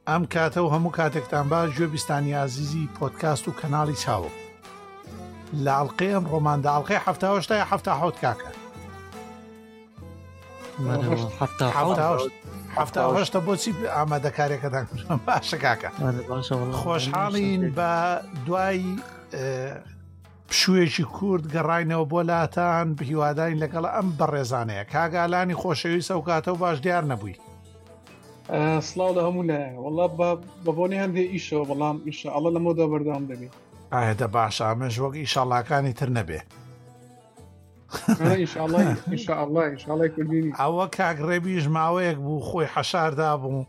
ئەم کاتە و هەموو کاتێکتان باش گوێبیستانی عزیزی پۆدکاست و کەناڵی چاوە لە ئەڵقەی ئەم ڕۆماندا ئەڵقەی 78 یا 77 کاکە 78 بۆچی ئامادەکاریەکەتان کردم باشە کاکە خۆشحاڵین بە دوای پشوویەکی کورد گەڕاینەوە بۆ لاتان هیوادارین لەگەڵ ئەم بەڕێزانەیە کاگالانی خۆشەویست ئەو کاتە و باش دیار نەبووی سڵاو لە هەموو لایە وەڵا بەبوونی هەندێ ئیشەوە بەڵام ئینشاءالله لەمەوەدا بەردەوام دەبێت ئاهێدە باشە ئەمەش وەک ئیشاڵڵاکانی تر نەبێ ئینشاءالله کوردینی ئەوە کاگڕێبیش ماوەیەک بوو خۆی حەشاردا بوو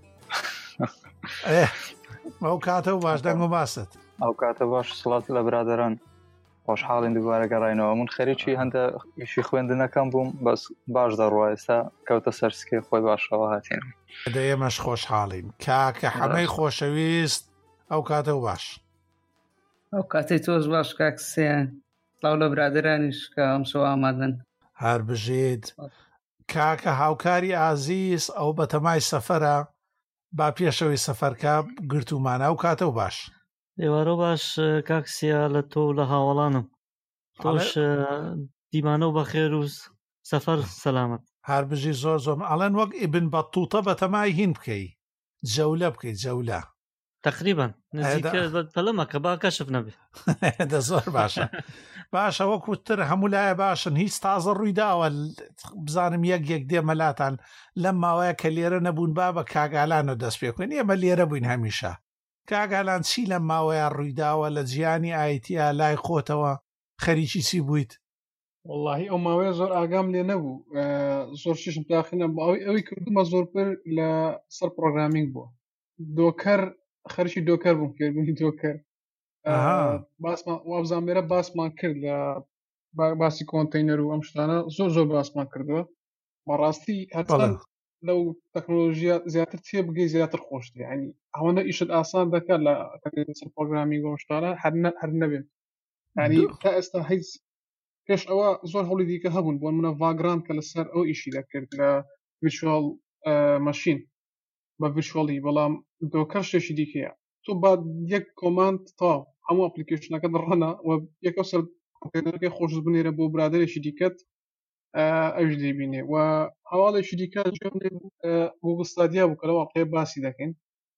ئەو کاتە و باش دەنگ و باست ئەو کاتە باش سڵات لە برادران خۆشحاڵین دووبارە گەڕاینەوە من خەریکی هەندە ئیشی خوێندنەکەم بووم بەس باش دەڕوە ئێستا کەوتە سەرسکێ خۆی باشەوە هاتین ئێمەش خۆشحاڵین کاکە حەمەی خۆشەویست ئەو کاتە و باش ئەو کاتەی تۆش باش کاکسیان سڵاو لە برادرانیش کە ئەمشەوە ئامادەن هەر بژێت کاکە هاوکاری ئازیز ئەو بەتەمای سەفەرە با پێشەوەی سەفەرکە گرتومانە ئەو کاتە و باش ئێوارە باش کاکسیا لە تۆ لە هاوڵانم تۆش دیمانە و بەخێر و سەفەر سەلامەت هەر بژی زۆر زۆر ئەڵەن وەک ئیبن بەتوتە بەتەمای هین بکەی جەولە بکەیت جەولە تقریبا نزیکە با کەشف نەبێ دە زۆر باشە باشە وەکوتر هەموو لایە باشن هیچ تازە ڕوویداوە بزانم یەک دێمەلاتان لەم ماوەیە کە لێرە نەبوون با بە کاگالان و دەست پێکوێن ئێمە لێرە بووین هەمیشە کاگالان چی لەم ماوەیە ڕوویداوە لە جیانی ئایتیا لای خۆتەوە خەریکی چی بوویت واللهی ئەو ماوەیە زۆر ئاگام لێ نەبوو زۆر ششم تاخینە ئەوەی کردومە زۆرپەر لە سەر پرۆگرامینگ بووە دۆکەر خەرشی دۆکەر بووم فێربوونی دۆکەر باسمان وابزانێرە باسمان کرد لە باسی کۆنتەینەر و ئەم شتانە زۆر باسمان کردووە بەڕاستی هەرچەند لەو تەکنۆلۆژیا زیاتر تێ بگەی زیاتر خۆشتر یعنی ئەوەندە ئیشت ئاسان دەکات لە سەر پرۆگرامینگ و شتانە هەر نەبێت ینی تا ئێستا هیچ پێش ئەوە زۆر هەوڵی دیکە هەبوون بۆ منە ڤاگران کە لەسەر ئەو ئیشی دەکرد لە ڤیرچوال ماشین بە ڤیرچوالی بەڵام دۆکەر شتێکی دیکەیە تۆ با یەک کۆماند تاو هەموو ئەپلیکیشنەکە دڕەنە و یەکە سەر کۆمپیوتەرەکەی خۆش بنێرە بۆ برادێکی دیکەت ئەوش دەبینێ و هەواڵێکی دیکە گوگل ستادیا بوو کە لەوە قێ باسی دەکەین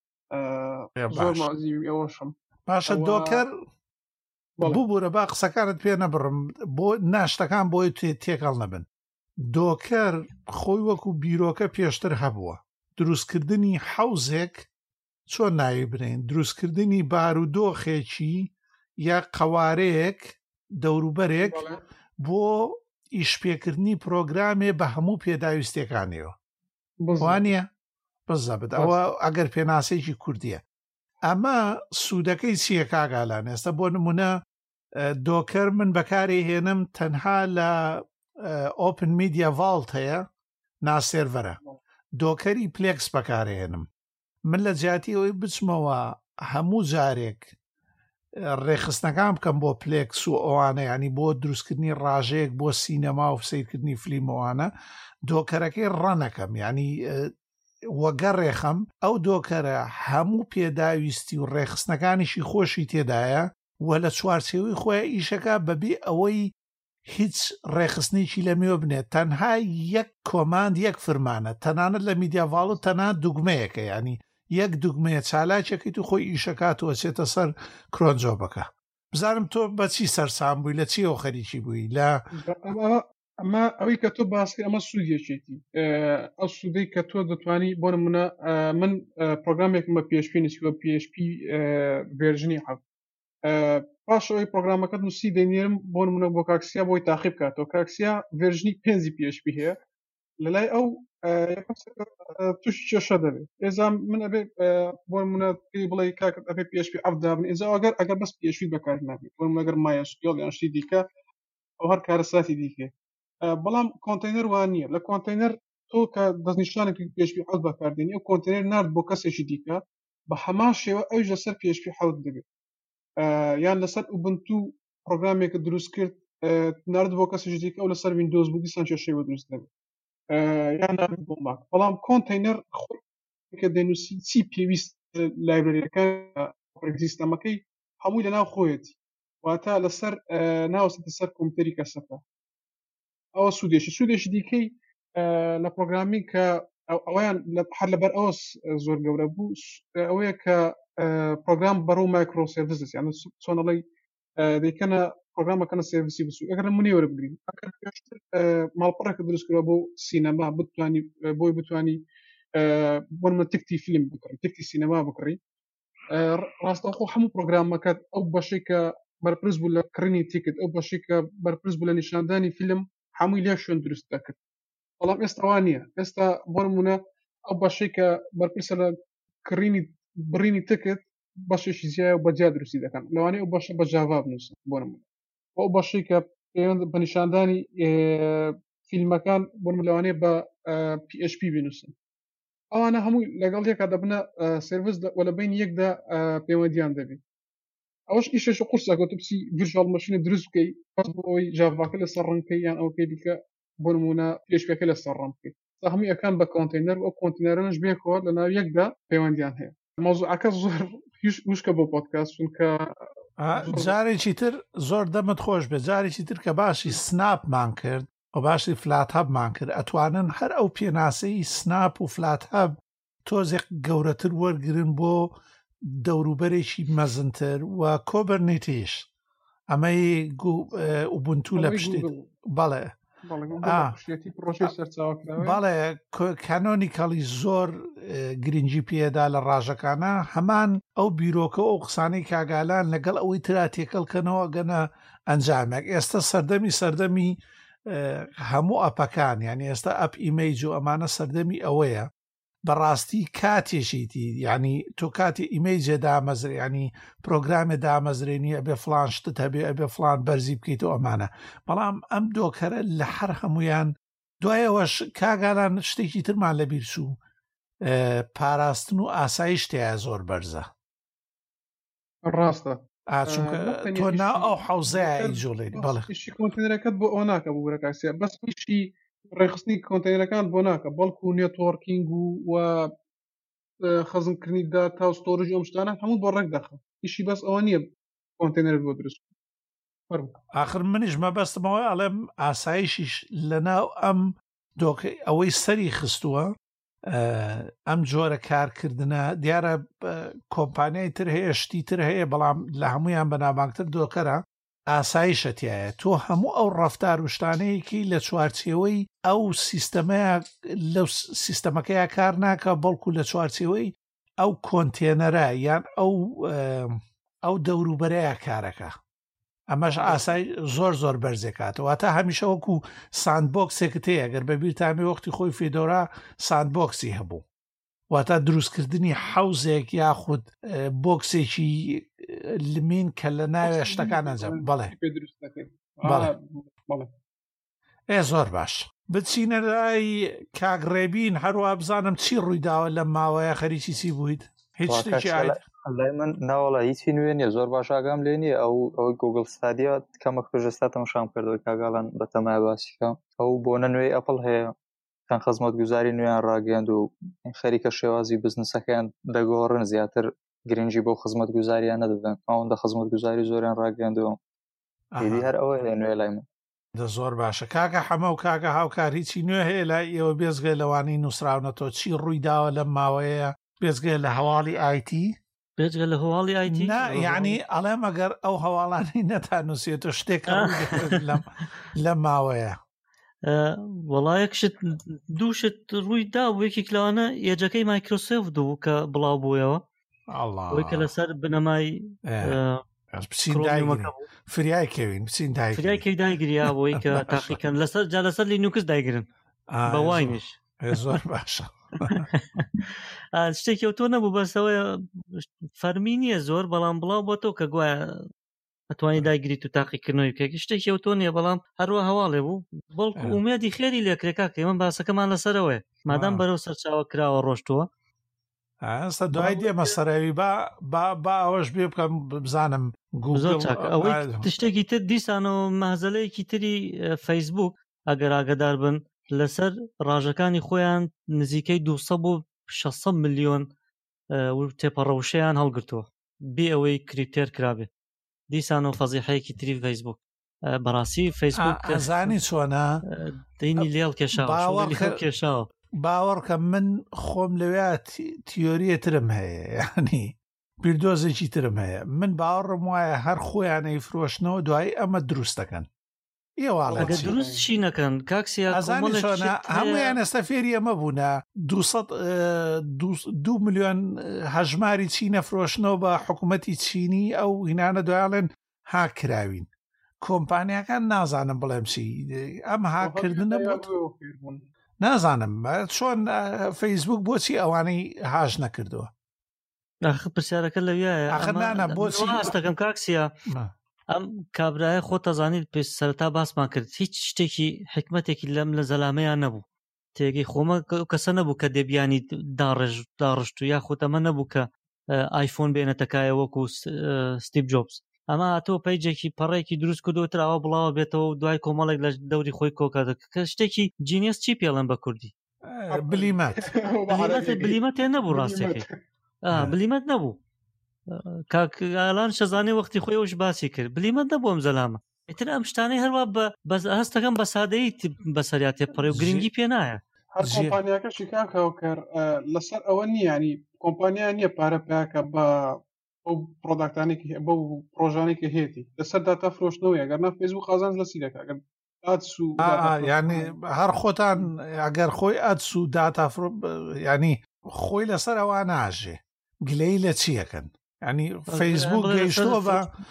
زۆر مازی ئەوەشم باشە دۆکەر بووبوورە با قسەکانت پێ نەبڕم بۆ ناشتەکان بۆی تێکەڵ نەبن دۆکەر خۆی وەکو بیرۆکە پێشتر هەبووە دروستکردنی حەوزێک چۆن ناوی برین دروستکردنی بارودۆخێکی یا قەوارەیەک دەوروبەرێک بۆ ئیشپێکردنی پرۆگرامێ بە هەموو پێداویستەکانەوە وانە بزەبت ئەوە ئەگەر پێناسێکی کوردیە ئەمە سوودەکەی چییە کاگالان ئێستا بۆ نمونە دۆکەر من بەکاری هێنم تەنها لە ئۆپن میدیا ڤاڵت هەیە ناسێرڤەرە دۆکەری پلێکس بەکارهێنم من لە جیاتی ئەوەی بچمەوە هەموو جارێک ڕێخستنەکان بکەم بۆ پلێکس و ئەوانە ینی بۆ دروستکردنی ڕاژەیەک بۆ سینەما و سیرکردنی فلیمەوانە دۆکەرەکەی ڕەنەکەم ینی وەگەڕێخەم ئەو دۆکەرە هەموو پێداویستی و ڕێخستنەکانیشی خۆشی تێدایە و لە چوارچێوەی خۆی ئیشەکە بەبێ ئەوەی هیچ ڕێخستنێکی لەمێوە بنێت تەنها یەک کۆماند یەک فرمانە تەنانەت لە میدیاڤاڵ تەنها دوگمەیەکە ینی یەک دوگمەیە چالاکێکی تو خۆی ئیشەکاتەوە چێتە سەر کرۆنجۆبەکە بزانم تۆ بەچی سەرسام بووی لە چیەوە خەریکی بووی لە ئەمە ئەوەی کە تۆ باسی ئەمە سوودێکێتی ئەو سوودەی کە تۆ دەتوانی بۆ نمونە من پرۆگرامێکم بە PHP نووسیوە PHP ڤێرژنی حەوت پاشەوەی پرۆگرامەکە نووسی دەینێرم بۆ نمونە بۆ کاکسیا بۆی تاقیب بکاتەوە کاکسیا ڤێرژنی 5 PHP هەیە لەلای ئەو تووشی کێشە دەبێت ئێزا من ئەبێ بۆ نمونە پێی بڵێ کاکە ئەبێ PHP ئەفدابن ئێزا ئەگەر بەس PHP بەکار نابێت بۆ نمونە ئەگەر مایەسکیۆڵ یان شتی دیکە ئەو هەر کارەساتی دیکە بەڵام کۆنتەینەر وان نییە لە کۆنتەینەر تۆ کە دەستنیشانێکی PHP حەوت بەکاردێنی ئەو کۆنتەینەر نارد بۆ کەسێکی دیکە بە هەمان شێوە ئەوش لەسەر PHP حەوت دەبێت یان لەسەر ئوبنتو پرۆگرامێکە دروست کرد نارد بۆ کەسێکی دیکە ئەو لەسەر ویندۆز بوو دیسان کێشەی دروست دەبێت یان نارد بۆ ماک بەڵام کۆنتەینەر خۆی کە دەنووسی چی پێویست لایبرەریەکان سیستەمەکەی هەمووی لەناو خۆیەتی واتە لەسەر ناوەستە سەر کۆمپیوتەری کەسەکە ئەوە سوودێشی دیکەی لە پرۆگرامی کە ئەویان هەر لەبەر ئەوە زۆر گەورە بوو ئەوەیە کە پرۆگرام بەرەو مایکرۆسێڤیس یانە چۆنەڵی دەیکەنە پرۆگرامەکەنە سێڤیسی بسوو ئەگەر نمونەی وەربگرین ماڵپەڕێکە دروستکرەوە بۆ سینەما بتوانی بۆی بتوانی بۆ من تکتی فیلم بکڕی تکتی سینەما بکڕی ڕاستەوخۆ هەموو پرۆگرامەکەت ئەو بەشەی کە بەرپرس بوو لە کڕینی تیکت ئەو بەشەی کە بەرپرس بوو لە نیشاندانی فیلم هەمووی لێ شوێن دروست دەکرد بەڵام ئێستاوان نییە ئێستا بۆ نمونە ئەو بەشەی کە بەرپرسە لە کڕینی بڕینی تکت بەشێکی زیایە و بەجیا دروستی دەکەن لەوانەیە ئەو بەشە بە جاوا بنووسن بۆ نمونە ئەو بەشەی کە پەیوەند بە نیشاندانی فیلمەکان بۆ لەوانەیە بە PHP بنووسن ئەوانە هەمووی لەگەڵ یەکا دەبنە سێڤیس وە لە بین یەکدا پەیوەندیان دەبێت ئەوش ئیشش قورسەکە تۆ بچی ڤیرچوال ماشینە دروست بکەی بەس بۆەوەی ژاڤاکە لەسەر ڕەنکەی یان ئەوکەی دیکە بۆ نمونە PHPەکە لەسەر ڕەن بکەیت هەمووی ئەکان بە کۆنتینەر و ئەو کۆنتینەرەش بێکەوە لەناو یەکدا پەیوەندیان هەیە مۆزوعەکە زۆر وشکە بۆ پۆدکاست چونکە جارێکی تر زۆر دەمت خۆش بێ جارێکی تر کە باشی سناپمان کرد و باشی فلات هەبمان کرد ئەتوانن هەر ئەو پێناسەی سناپ و فلات هەب تۆزێک گەورەتر وەرگرن بۆ دەوروبەرێکی مەزنتر و کۆبەرنیتیش ئەمەی ئوبونتو لە پشتی بەڵێ بەڵێ کانۆنیکەڵی زۆر گرنگی پێدا لە ڕاژەکانە هەمان ئەو بیرۆکە ئەو قسانەی کاگالان لەگەڵ ئەوەی ترا تێکەڵکەنەوە گەنە ئەنجامێک ئێستا سەردەمی هەموو ئەپەکان یعنی ئێستا ئەپ ئیمەیج و ئەمانە سەردەمی ئەوەیە بەڕاستی کاتێشیتی ینی تۆ کاتی ئیمەیجێ دامەزرێ ینی پرۆگرامێ دامەزرێنی ئەبێ فلان شتت هەبێ ئەبێ فلان بەرزی بکەیتەوە ئەمانە بەڵام ئەم دۆکەرە لە هەر هەمویان دوایەوەش کاگالان شتێکی ترمان لەبیر چوو پاراستن و ئاسایش تایە زۆر بەرزە ڕاستە چونکە تۆ نا ئەو حەوزەیە جۆڵێنی بەڵێ کۆنتینەرەکەت بۆ ئەو ناکە بۆ بەرەکاسیە بەس پیشی ڕێخستنی کۆنتینەرەکان بۆ ناکە بەڵکو و نێتوەرکینگ و خەزمکردنی داتا و ستۆرج ئەم شتانە هەموو بۆ ڕێک دەخە ئیشی بەس ئەوە نییە کۆنتینەر بۆ دروست آخر منیش مەبەستمەوە ئەڵێم ئاسایشیش لەناو ئەم دۆکە ئەوەی سەری خستووە ئەم جۆرە کارکردنە دیارە کۆمپانیای تر هەیە شتی تر هەیە بەڵام لە هەمویان بەناماکتر دۆکەرە ئاسایشەتیایە تۆ هەموو ئەو ڕەفتار وشتانەیەکی لە چوارچێوەی ئەو سیستەمەیە لەو سیستەمەکەیە کار ناکە بەڵکو لە چوارچێوەی ئەو کۆنتێنەرە یان ئەو دەوروبەرەیە کارەکە ئەمەش ئاسای زۆر بەرزێکاتەوە تا هەمیشە وەکو ساندبۆکسێکت هەیە گەر بەبیرتانێ وەختی خۆی فێدۆرا ساندبۆکسی هەبوو واتە دروستکردنی حەوزێک یاخود بۆکسێکی لمین کە لە ناوێ شتەکان ئەنجام بەڵێ زۆر باش بچینە لای کاگڕێبین هەروە بزانم چی ڕوویداوە لە ماوەیە خەریکی چی بوویت هیچ شتێکی لای من ناوەڵە هیچی نوێ نیە زۆر باش ئاگام لێ نیە ئەو گوگل ستادیا کەمەک پێشستا تەماشام کردەوەی کاگاڵان بە تەمای باسیکە ئەو بۆ نوێی ئەپڵ هەیە چەند خزمەت گوزاری نوێیان ڕاگەاند و خەریکە شێوازی بزنسەکەیان دەگۆڕن زیاتر گرنگی بۆ خزمەت گوزاریان نەدەدەن ئەوەندە خزمەت گوزاری زۆریان ڕاگەاندەوە هێدی هەر ئەوە هەیە نوێ لای من زۆر باشە کاکە حەمە و کاکە هاوکار هیچی نوێ هەیە لای ئێوە بێزگە لەوانەی نووسراونەتەوە چی ڕوویداوە لەم ماوەیە بێزگە لە هەواڵی ئایتی بێجگە لە هەواڵی ئایتی یعنی ئەڵێم ئەگەر ئەو هەواڵانی نەتانووسێتە شتێک لە ماوەیە وەڵایەکشت دووشت ڕوویدا وەیەکێک لەوانە ئێجەکەی مایکرۆسۆفت و کە بڵاو بوویەوە ئەوەی کە لەسەر بنەمای فریای کەوین بچین فریای دایگریا بۆی کە تاقیکەن لەسەر لینوکس دایگرن بەوانیش زۆر باشە شتێکی ئەو تۆ نەبوو بەسەوەی فەرمی نییە زۆر بەڵام بڵاو بۆ تۆ کە گوایە ئەتوانی داگریت و تاقیکردنەوەی بکەی شتێکی ئەو تۆ نییە بەڵام هەروە هەواڵێ بوو بەڵکو ئومێدی خێری لێکرێکا کە ئێمە باسەکەمان لەسەرەوەی مادام بەرەو سەرچاوە کراوە ڕۆشتووە ئەستا دوای دێمە سەراوی با ئەوەش بێ بکەم بزانم زۆر چاکە ئەوەی تشتێکی تر دیسانەوە مەهزەلەیەکی تری فەیسبوک ئەگەر ئاگدار بن لەسەر ڕاژەکانی خۆیان نزیکەی 200 بۆ 600 ملیۆن تێپەڕەوشەیان هەڵگرتووە بێ ئەوەی کریپتێر کرابێ دیسانەوە فەزیحەیەکی تری فەیسبوک بەڕاستی فەیسبوک ئەزانی چۆنە دەینی لێڵ کێشاوە باوەڕکە من خۆم لەوێ تیۆریەترم هەیە یعنی بیردۆزێکی ترم هەیە من باوەڕم وایە هەر خۆیانەی فرۆشتنەوە دوای ئەمە دروستەکەن ئەگە دروست چی نەکەن کاکسیا هەمویان ئێستا فێری ئەمە بوونە 2 ملیۆن هەژماری چینە فرۆشتنەوە بە حکوومەتی چینی ئەو هینانە دوایڵێن هاکراوین کۆمپانیەکان نازانم بڵێم چی ئەم هاکردن نازانم چۆن فەیسبوک بۆچی ئەوانەی هاژ نەکردووە پرسیارەکە لەویایە بۆچی هەستەکەم کاکسیا ئەم کابرایە خۆ تەزانیت پێ سەرەتا باسمان کرد هیچ شتێکی حکمەتێکی لەم لە زەلامەیان نەبوو تێگەی خۆمە کەسە نەبوو کە دەبیانی داڕشت و یاخۆت ئەمە نەبوو کە ئایفۆن بێنەتەکایە وەکو ستیڤ جۆبس ئەمە هاتۆ پەیجێکی پەڕێکی دروست کردوتراوە بڵاوە بێتەوە دوای کۆمەڵێک لە دەوری خۆی کۆکات کە شتێکی جینیس چی پێڵێن بە کوردی بلیمەت نەبوو ڕاستێکی بلیمەت نەبوو کاکالان شەزانێ وەختی خۆی ئەوش باسی کرد بلیمەت نەبوو ئەم زەلامە ئیتر ئەم شتانەی هەروە بە هەستەکەم بە سادەیی بەسەریا تێپەڕێ و گرنگی پێ نایە هەر کۆمپانیاکەشی کاکەوە کرد لەسەر ئەوە نیانی کۆمپانیا نییە پارە پیاکە بە ئەو پرۆداکتانێکی بە پرۆژانێکی هێتی لەسەر داتا فرۆشتنەوەی ئەگەرنا فێسبوک قازانج لە سیرەکە ینی هەر خۆتان ئەگەر خۆی ئەدس و داتا ینی خۆی لەسەر ئەوە ناژێ گلەی لە چیەکەن ینی فەیسبوک گەیشتووە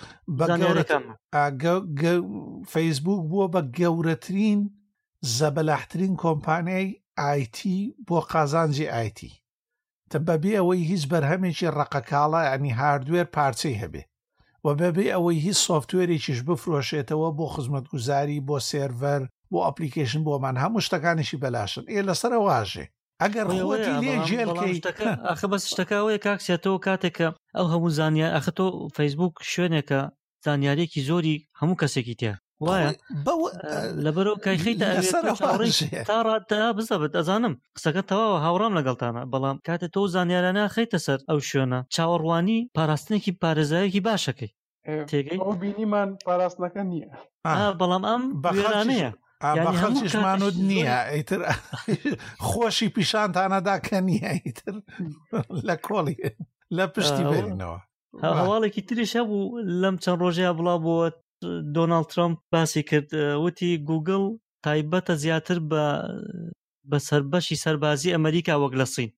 فەیسبوک بووە بە گەورەترین زەبەلاحترین کۆمپانیای ئایتی بۆ قازانجی ئایتی تە بەبێ ئەوەی هیچ بەرهەمێکی ڕقەکاڵە ینی هاردوێر پارچەی هەبێ و بەبێ ئەوەی هیچ سۆفتوێرێکیش بفرۆشێتەوە بۆ خزمەتگوزاری بۆ سێرڤەر بۆ ئەپلیکیشن بۆمان هەموو شتەکانیشی بەلاشن لەسەر واژێ ئەگەر خۆتی لێ جێلکەی ئەخە بەس شتەکەوەیە کاکسێتەوە کاتێکە ئەو هەموو زانیار ئەخە تۆ فەیسبوک شوێنێکە زانیارێکی زۆری هەموو کەسێکی تیا وایە لەبەرەوە کایخیتە تا بزەبێت ئەزانم قسەکە تەواوە هاوڕام لەگەڵتانە بەڵام کاتە تۆ زانیارانە خەیتە سەر ئەو شوێنە چاوەڕوانی پاراستنێکی پارێزایەکی باشەکەی تێگەی بینیمان پاراستنەکە نییە بەڵام ئەم بەخێرانەیە بە خەڵکیشمانوت نییە ئەیتر خۆشی پیشانتانەدا کە نییە ئیتر لە کۆڵی لە پشتی بێنەوە هەواڵێکی تریش هەبوو لەم چەند ڕۆژەیە بڵاو بووە دۆناڵد ترامپ باسی کرد وتی گوگل تایبەتە زیاتر بە سەربەشی سەربازی ئەمریکا وەک لە سین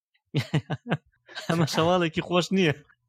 ئەمە شەواڵێکی خۆش نییە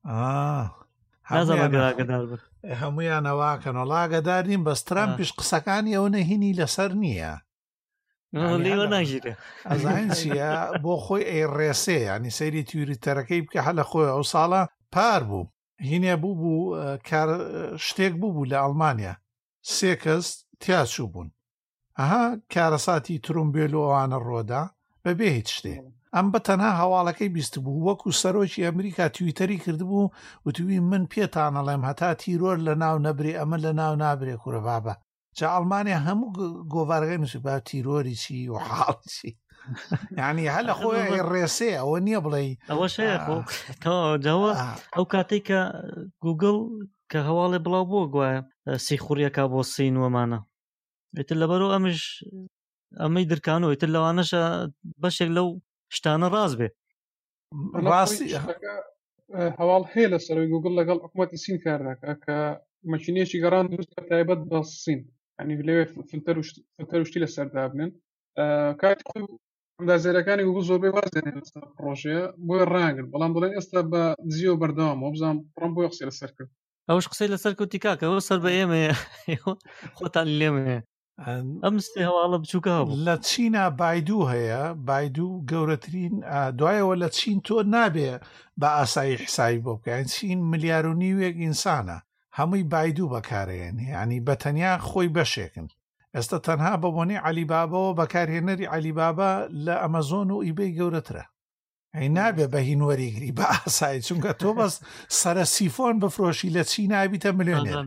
هەمویان ئەواکەن وڵاگەدارین بەس ترامپیش قسەکانی ئەو نەهینی لەسەر نییە لێوە ناژیرێ ئەزان چیە بۆ خۆی ئەیڕێسێ ینی سەیری تویتەرەکەی بکە هە لە خۆی ئەو ساڵە پار بوو هینێ بوو شتێک بوو لە ئەڵمانیا 3 کەس تیاچوو بوون ئەها کارەساتی ترومبێل و ئەوانە ڕۆدا بەبێ هیچ شتێ ئەم بە تەنها هەواڵەکەی بیست بوو وەکو سەرۆکی ئەمریکا تویتەری کردبوو وتوی من پێتانەڵێم هەتا تیرۆر لە ناو نەبرێ ئەمە لە ناو نابرێ کوورە بابە جا ئەڵمانیا هەموو گۆڤارەکەی نووسی با تیرۆری چی و حاڵی یعنی هەل لە خۆی ڕێسێ ئەوە نییە بڵێ ئەوە شەیەەوە ئەو کاتێک کە گوگل کە هەواڵێ بڵاو بووە گوایە سیخوریەکە بۆ سین وەمانە ئیتر لەبەرەوە ئەمش ئەمەی درکانەوە ئیتر لەوانەشە بەشێک لەو شتانە ڕاست بێ ڕاستی هەواڵ هەیە لە سەرەوەی گوگل لەگەڵ حکوومەتی سین کار دەکات کە مەشینێکی گەڕان دروست تایبەت بە سین ینی لەوێ فلتەر وشتی لەسەردا بنن کاتی خۆی ئەندازێرەکانی گوگل زۆربەی وازێنێت لەسەر پرۆژەیە بۆی ڕاگرن بەڵام دەڵێن ئێستا بە دزی و بەردەوامەوە بزانام پڕۆم بۆی قسەی لەسەر کرد ئەوش قسەی لەسەر کەوتی کاکە ئەوە سەر بە ئێمەیە خۆتان لێمەیە ئەم سێ هەواڵە بچووکە هەبوو لە چینە بایدوو هەیە بایدوو گەورەترین دوایەوە لە چین تۆ نابێ بە ئاسایی حسابی بۆ بکەین چین 1.5 ملیار ئینسانە هەمووی بایدوو بەکارێنێ ینی بەتەنیا خۆی بەشێکن ئێستا تەنها بە بۆنەی عەلیبابەوە بەکارهێنەری عەلیبابە لە ئەمەزۆن و ئیبەی گەورەترە ئەی نابێ بە هین وەریگری بە ئاسایی چونکە تۆ بەس سەرە سیفۆن بفرۆشی لە چین نابیتە ملیۆنێر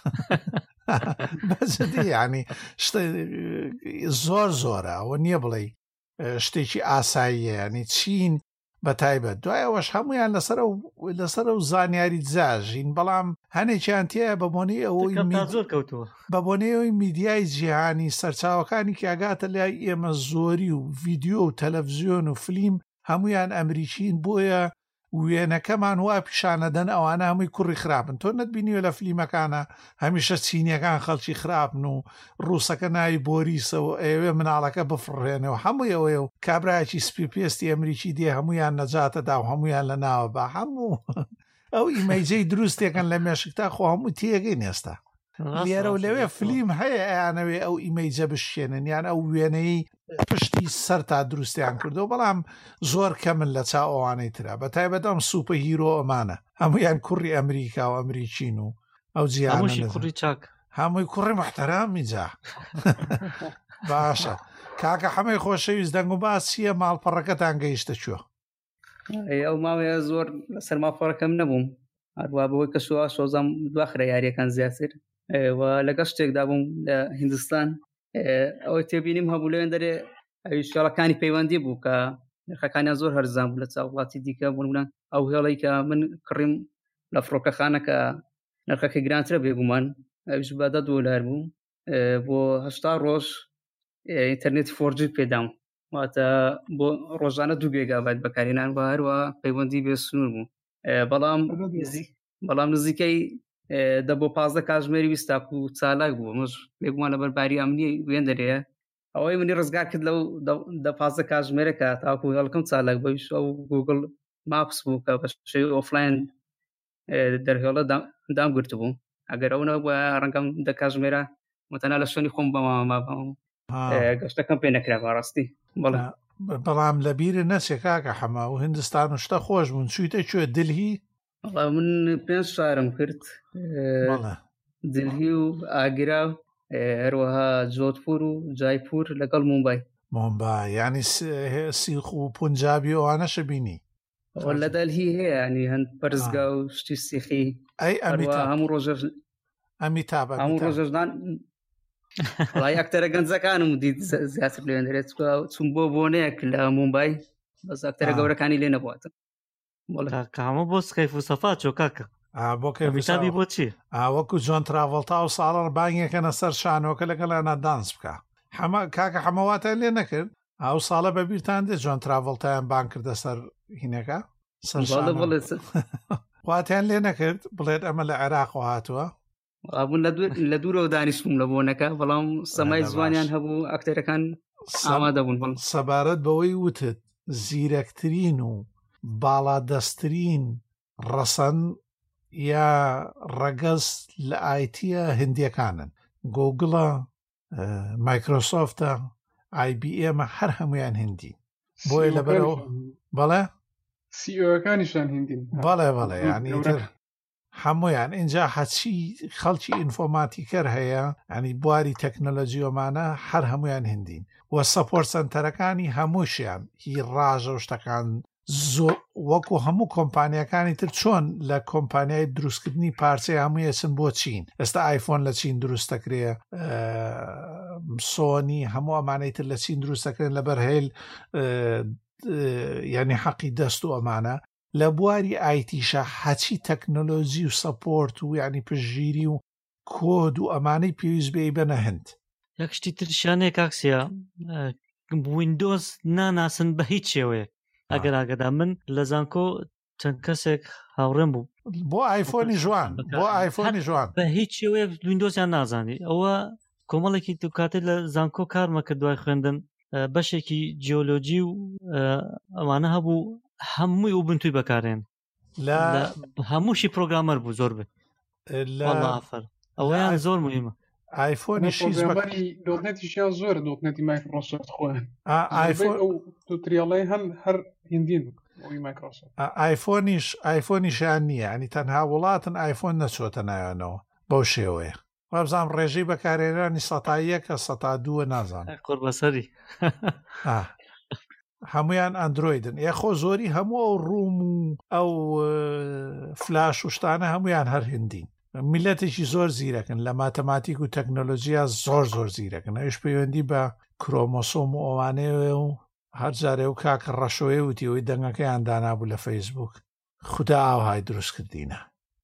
بەجددی ینی زۆر زۆرە ئەوە نییە بڵێ شتێکی ئاساییە ینی چین بە تایبەت دوای ئەوەش هەمویان لەسەر و زانیاری جاژین بەڵام هەنێکیان تایە بەبوونی ئەوەی زۆر کەوتووە بەبوونەوەی میدیای جیهانی سەرچاوەکانی کاگاتە لای ئێمە زۆری و ڤیددیۆ و تەلەڤزیۆن و فلیم هەمویان ئەمریکین بۆیە وێنەکەمان وا پیشانەدەن ئەوانە هەمووی کوڕی خراپن تۆ نەتبینیوە لە فلیمەکانە هەمیشە چینیەکان خەڵکی خراپن و ڕووسەکە ناوی بۆریسەوە ئێوێ مناڵەکە بفڕێنەوە هەمووی ئەوەیە و کابراایکی سپی پێستی ئەمریکی دێ هەمویان نەجاتەدا و هەمویان لە ناوە بە هەموو ئەو ئیمەیجەی دروستێکن لە مێشکتا خۆ هەموو تێگەی نێستا لێرە و لەوێ فلیم هەیە ئەیانەوێ ئەو ئیمەیجە بشێنن یان ئەو وێنەی پشتی سەر تا دروستیان کردو بەڵام زۆر کەمن لە چاو ئەوانەی ترا بە تایبەتەم سوپە هیرۆ ئەمانە هەمویان کوڕی ئەمریکا و ئەمریکین و ئەو جیانشی کوڕی چاک هەمووی کوڕی محتەرامی جا باشە کاکە هەمەی خۆشەویست دەنگ و باس چییە ماڵپەڕەکەتان گەیشتە چوە ئەو ماوەیە زۆر لەسەر ماڵپەڕەکەم نەبووم هەروە بەوەی کە سووا سۆزام دواخرە یاریەکان زیاتر لەگەڵ شتێکدا بووم لە هیندستان ئەوەی تێبینیم هەبوو لەوێن دەرێ ئەویشتێڵەکانی پەیوەندی بوو کە نرخەکانیان زۆر هەرزان بوو لە چاو وڵاتی دیکە بوون ئەو هێڵەی کە من کڕیم لە فڕۆکەخانەکە نرخەکە گرانترە بێگومان ئەویش بە $10 بوو بۆ 80 ڕۆژ ئینتەرنێت 4G پێدام واتە بۆ ڕۆژانە 2 گیگابایت بەکارهێنان و هەروە پەیوەندی بێ سنوور بوو بەڵام نزیکەی دە بۆ 15 کاتژمێری 20 و چالاک بوو مش بێگومان لە بەرباری ئەمنی وێن دەرەیە ئەوەی منی ڕزگار کرد لەو دە 15 کاتژمێرەکە تاکو هەڵکەم چالاک بەویش ئەو گوگل ماپس بوو کە بە شێوەی ئۆفلاین دەرهێڵە دامگرت بوو ئەگەر ئەوە بە ڕەنگەم 10 کاتژمێرە متەنا لە شوێنی خۆم بەمامابم گەشتەکەم پێ نەکرا بەڕاستی بەڵام لە بیرە نەچێ کاکە حەما و هیندستان و شتە خۆش بوون چوویتە کوێ دلهی من 5 شارم کرد دلهی و ئاگرا هەروەها جۆدپور و جایپور لەگەڵ مومبای یعنی سیخ و پونجابی ئەوانەشە بینی لە دەلهی هەیە ینی هەند پەرزگا و شتی سیخی هەموو ڕۆژە هەموو ڕۆژەژدان وڵای ئەکتەرە گەنجەکانم دیت زیاتر لێن دەرێت چوون بۆ بۆنەیەک لە مومبای بەس ئەکتەرە گەورەکانی لێ نەبواتە کامە بۆ سکەیف و سەفا چۆ کاکە بۆ کەویتابی بۆ چی وەکو جۆن تراڤڵتا و ساڵڕ بانگێکەنە سەر شانۆکە لەگەڵانە دانس بکە کاکە حەمەواتە لێ نەکرد ئەو ساڵە بەبییرتان دێ جۆن تراڤڵتایان بان کردە سەر هینەکە خواتیان لێ نەکرد بڵێت ئەمە لە عێراق هاتووە بوون لە دوورەوە دانیشتم لە بۆنەکە بەڵام سەمای زوانیان هەبوو ئەکتەرەکان ئامادە بوون سەبارەت بەوەی وتت زیرەکترین و باڵادەستترین ڕەسەن یا ڕەگەز لە ئایتیە هندیەکانن گۆگڵە مایکرۆسۆفتە IBM هەر هەمویان هندی بۆیە لەبەرەوە بەڵێ سیۆەکانیشان هندین بەڵێ ینی هەمویان اینجا هەچی خەڵکی ئینفۆماتیکەر هەیە ئەنی بواری تەکنۆلۆژیۆمانە هەر هەمویان هندین وە سەپۆرت سەنتەرەکانی هەمووشیان هی ڕاژە و شتەکان زۆر وەکو هەموو کۆمپانیەکانی تر چۆن لە کۆمپانیای دروستکردنی پارچەی هەمووی چن بۆ چین ئێستا ئایفۆن لە چین دروستەکرێ سۆنی هەموو ئەمانەی تر لە چین دروستەکرێن لەبەر هێل یعنی حەقی دەست و ئەمانە لە بواری ئایتیشە هەچی تەکنۆلۆژی و سەپۆرت و یعنی پشگیری و کۆد و ئەمانەی پێویست بێ بەنە هەند یەکشتی ترشانەیە کاکسیە ویندۆز ناناسن بە هیچ شێوەیە ئەگەر ئاگەدا من لە زانکۆ چەند کەسێک هاوڕێم بوو بۆ ئایفۆنی جوان بۆ ئایفۆنی جوان بە هیچ شێوەیە ویندۆزیان نازانی ئەوە کۆمەڵێکی دوکاتێت لە زانکۆ کارمە کە دوای خوێندن بەشێکی جیۆلۆجی و ئەوانە هەبوو هەمووی وبنتوی بەکارێن هەمووشی پرۆگرامەر بوو زۆر بێت ئافر ئەوەیان زۆر مهمە ئایفۆنی دۆتنێتیشیان زۆر دۆتنێتی مایکرۆسۆفت خۆیان ئایفۆن توتریاڵی هەر هندین ئایفۆنیشیان نییە ئەنی تەنها وڵاتن ئایفۆن نەچۆتە نایەنەوە بەو شێوەیە وابزانام ڕێژەی بەکارێنانی 101 102 نازانم قڕ بەسەری هەمویان ئەندرویدن یاخۆ زۆری هەموو ئەو ڕووم و ئەو فلاش و شتانە هەمویان هەر هندین میلەتێکی زۆر زیرەکن لە ماتەماتیک و تەکنۆلۆژیا زۆر زیرەکن ئەوش پەیوەندی بە کرۆمۆسۆم و ئەوانەیە و هەر جارێ و کاکە ڕەشۆیە وتیەوەی دەنگەکەیان دانابوو لە فەیسبوک خوددا ئاوهای دروست کردینە.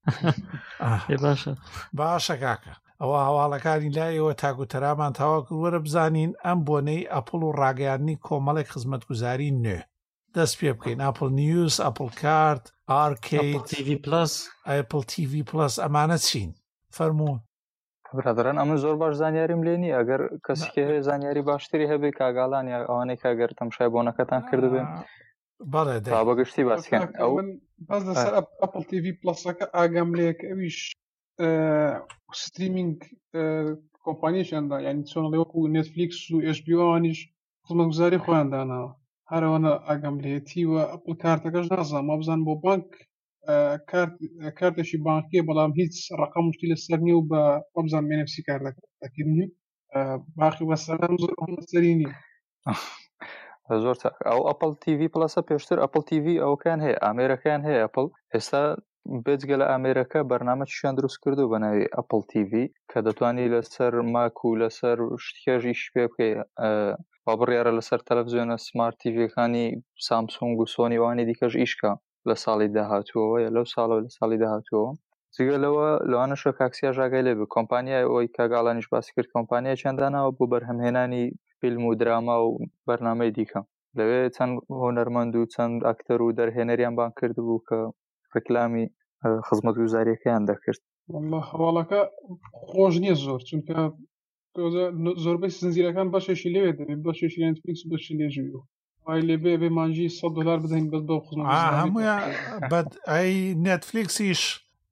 باشە کاکە ئەوە هەواڵەکانی لایەوە تاگوتەرامان تاوا کرد وەرە بزانین ئەم بۆنەی ئەپڵ و ڕاگەیاندنی کۆمەڵێک خزمەتگوزاری نوێ دەست پێ بکەین ئاپل نیوز، ئەپل کارت، ئارکید، ئەپل TV پلس ئەمانە چین فەرموون. برادران ئەمە زۆر باش زانیاریم لێنی ئەگەر کەسێکی هەیە زانیاری باشتری هەبێ کاگاڵان یا ئەوانەی کاگەر تەمشای بۆنەکەتان کردبێن بەڵێ بەگشتی باسکەن ئەو باز لەسەر ئەپل TV پلسەکە ئاگام لێک ئەویش ستریمینگ کۆمپانیشیاندا یعنی چۆنڵێ وەکو نێتفلیکس و HBO وانیش خزمەتگوزاری خۆیان داناوە هەرەوەنە ئاگام لێتیوە ئەپل کارتەکەش نازانم وابزان بۆ بانک کارتێکی بانکیە بەڵام هیچ ڕقم شتی لەسەر نیە و بە وابزان مێنفسی کاردەکردنی باقی وەسەلام زۆر سەری نیە زۆر ئەو ئەپل TV پلسە پێشتر ئەپل TV ئەوکان هەیە ئامێرەکان هەیە ئەپل ئێستا بێجگە لە ئامێرەکە بەرنامەیان دروست کردو بە ناوی ئەپل TV کە دەتوانانی لەسەر ماک و لەسەر شتێژیش پێ بکەی با بڕیارە لەسەر تەلەڤیزیۆنە سمارت تیڤەکانی سامسونگ و سۆنی وانی دیکەش ئیشکە لە ساڵی داهاتووەوە لەو ساڵەوە لە ساڵی داهاتووەوە جگە لەوانەشە کاکسیا ژاگای لێ بێ کۆمپانیای ئەوەی کاگاڵانیش باسی کرد کۆمپانیا چەنداناوە بۆ بەرهەمهێنانی فیلم و دراما و بەرنامەی دیکە لەوێ چەند هۆنەرمەند و چەند ئاکتەر و دەرهێنەریان بان کرد بوو کە ڕکلامی خزمەتگوزاریەکەیان دەکرد. هەواڵەکە خۆش نییە زۆر چونکە زۆربەی زنجیرەکان بەشێکی لێوێ دەبێت بەشێکی نێتفلیکس و بەشی لێژووی وای لێبێ بێ مانجی $100 بدەین بەس بەو خزمەتگوزاری هەموویان ئەی نێتفلیکسیش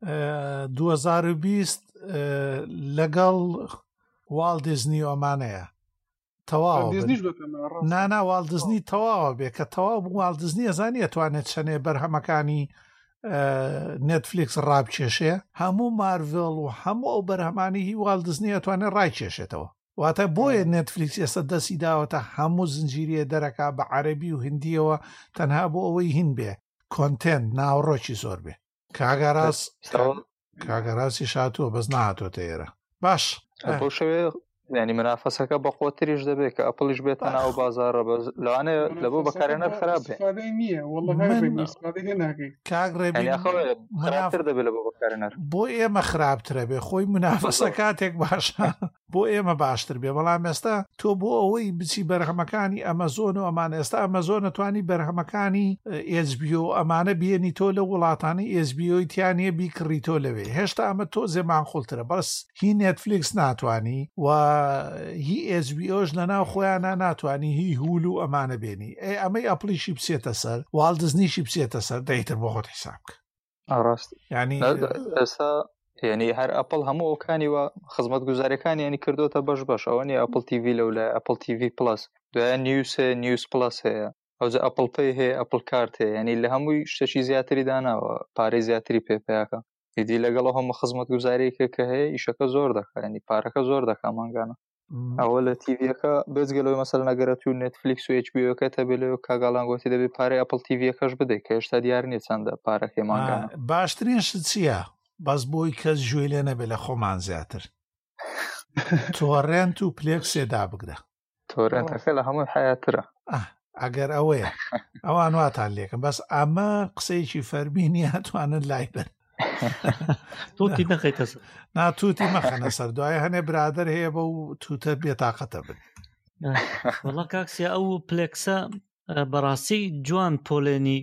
2020 لەگەڵ واڵ دیزنی ئۆمانەیە تەواو نانا واڵ دیزنی تەواوە بێ کە تەواو بوو واڵ دیزنی ئەزانی ئەتوانێت چەنێ بەرهەمەکانی نێتفلیکس ڕابکێشێ هەموو مارڤڵ و هەموو ئەو بەرهەمانی هی واڵ دیزنی ئەتوانێت ڕایکێشێتەوە واتە بۆیە نێتفلیکس ئێستا دەستی داوەتە هەموو زنجیرە دەرەکا بە عەرەبی و هندیەوە تەنها بۆ ئەوەی هین بێ کۆنتێنت ناوڕۆکی زۆر بێ کاگەڕاستی شاتووە بەس نهاتۆتە ئێرە باش بۆ شەوێ ینی منافەسەکە بە قوتریش دەبێت کە ئەپڵیش بێتە ناو بازارڕە لەوانێ لە بۆ بەکارێنەر خراپ بێ خراپتر دەبێت لە بۆ بەکارێنەر بۆ ئێمە خراپترە بێ خۆی منافەسە کاتێک باشە بۆ ئێمە باشتر بێ بەڵام ئێستا تۆ بۆ ئەوەی بچی بەرهەمەکانی ئەمەزۆن و ئەمان ئێستا ئەمەزۆن نتوانی بەرهەمەکانی HBO ئەمانە بێنی تۆ لە وڵاتانی HBO تیانە بیکڕی تۆ لەوێ هێشتا ئەمە تۆ زێمان خۆڵترە بەس هی نێتفلیکس ناتوانی و هی SBOش لەناو خۆیانە ناتوانانی هی هول و ئەمانە بێنی ئەمەی ئەپلیشی بچێتە سەر واڵ دزنیشی بچێتە سەر دەیتر بۆ خۆت حساب بکە ڕاست ینی ئێستا یعنی هەر ئەپڵ هەموو ئەوکانی وە خزمەت گوزاریەکانی ینی کردوتە بەش ئەوەنی ئەپل TV لەولای ئەپل TV پلس دوایە نیوز پلس هەیە ئەوجا ئەپل پێی هەیە ئەپل کارت هەیە ینی لە هەمووی شتێکی زیاتری داناوە پارەی زیاتری پێپیاکە هیدی لەگەڵ هەموو خزمەت گوزاریەکە کە هەیە ئیشەکە زۆر دەکات ینی پارەکە زۆر دەکات مانگانە ئەوە لە تیڤەکە بێزگەلەوەی مەسەل نەگەرەت و نێتفلیکس و HBO-کە تەبێت کاگاڵان گوتی دەبێت پارەی ئەپل TV-کەش بدەیت کە هێشتا دیار نیە چەندە پارەکەی مانگانە باشترین شت چییە بەس بۆی کەس گوێ لێ نەبێت لە خۆمان زیاتر تۆڕێنت و پلێکسێدا بگرە تۆڕێنتەکە لە هەمووی حیاترە ئەگەر ئەوەیە ئەوان واتان لێکم بەس ئەمە قسەیەکی فەرمی هاتوانن لای بن توتی نەخەیتە سەر ناتوتی مەخەنە سەر دوای هەنێ برادر هەیە بە و توتە بێتاقەتە بن وەڵا کاکسیا ئەو پلێکسە بەڕاستی جوان پۆلێنی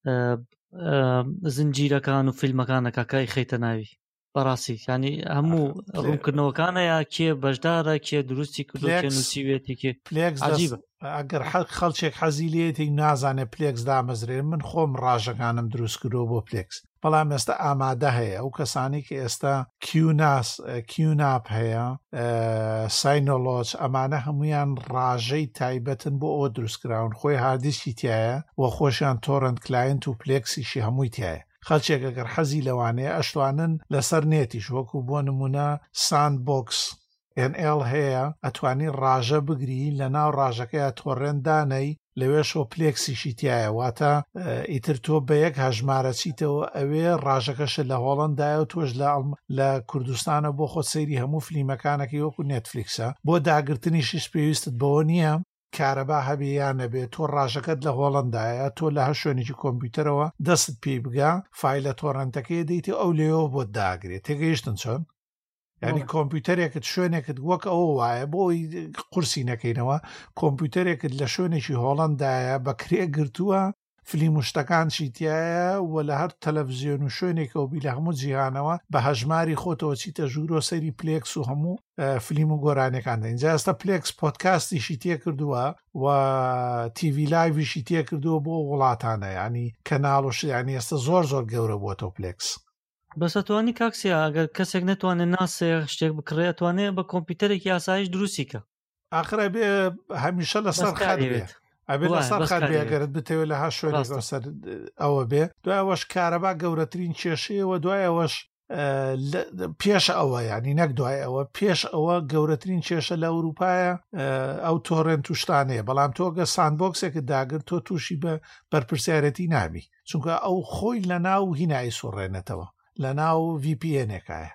زنجیرەکان و فیلمەکانە کاکای خەیتە ناوی بەڕاستی ینی هەموو ڕوونکردنەوەکانە یا کێ بەشدارە کێ دروستی کردو کێ نووسیوێتی کێ پلێکس عجیبە ئەگەر خەڵچێک حەزی لێتی نازانێت پلێکس دامەزرێن من خۆم ڕاژەکانم دروست کردو بۆ پلێکس بەڵام ئێستا ئامادە هەیە ئەو کەسانی کە ئێستا کیوناپ هەیە ساینۆلۆج ئەمانە هەمویان ڕاژەی تایبەتن بۆ ئەوە دروستکراون خۆی هاردیسکی تایە و خۆشیان تۆڕنت کلاینت و پلێکسیشی هەمووی تایە خەڵچێک ئەگەر حەزی لەوانەیە ئەشتوانن لەسەر نێتیش وەکو بۆ نمونە ساندبۆکس NL هەیە ئەتوانی ڕاژە بگری لە ناو ڕاژەکەی تۆڕێندانەی لەوێشۆ پلێکسیشی تایە واتە ئیتر تۆ بە یەک هەژمارە چیتەوە ئەوێ ڕاژەکەشە لە هۆڵندایە و تۆش لە کوردستانە بۆ خۆت سەیری هەموو فلیمەکانەکەی وەکو نێتفلیکسە بۆ داگرتنیشیش پێویستت بەوە نییە کارەبا هەبێ یان نەبێ تۆ ڕاژەکەت لە هۆڵندایە تۆ لە هەر شوێنێکی کۆمپیوتەرەوە دەست پێ بگا فایلە تۆڕەنتەکەی دەیتی ئەو لێەوە بۆ داگرێت تێگەیشتن چۆن ینی کۆمپیوتەرێکت شوێنێکت وەک ئەوە وایە بۆی قورسی نەکەینەوە کۆمپیوتەرێکت لە شوێنێکی هۆڵندایە بەکرێ گرتووە فلیم شتەکان چیتایە و لە هەر تەلەڤزیۆن و شوێنێکەوە بی لە هەموو جیهانەوە بە هەژماری خۆتەوە چیتە ژوورۆ سەری پلێکس و هەموو فلیم و گۆرانەکان اینجا ئێستا پلێکس پۆدکاستیشی تێ کردووە و تیڤی لایڤیشی تێ کردووە بۆ وڵاتانە ینی کەناڵ و ینی ئێستا زۆر گەورە بووەتەوە پلێکس بەسەتوانی کاکسیا ئەگەر کەسێک نتوانێت ناسێ شتێک بکڕێ ئەتوانێت بە کۆمپیوتەرێکی ئاسایش دروستیکە ئاخرە بێ هەمیشە لەسەر خەت بێت ئەبێ لەسەر خەت بێگەرت بتەوێت لە ها شوێنێک سەر ئەوە بێ دوایەوەش کارەبا گەورەترین کێشەیەوە دوایەوەش پێش ئەوە ینی نەک دوای ئەوە پێش ئەوە گەورەترین کێشە لە ئەوروپایە ئەو تۆڕێن توشتانەیە بەڵام تۆگە ساندبۆکسێکت داگرت تۆ تووشی بە بەرپرسیارەتی نابی چونکە ئەو خۆی لە ناو هینایی سوڕێنێتەوە لە ناو VPN-ێکایە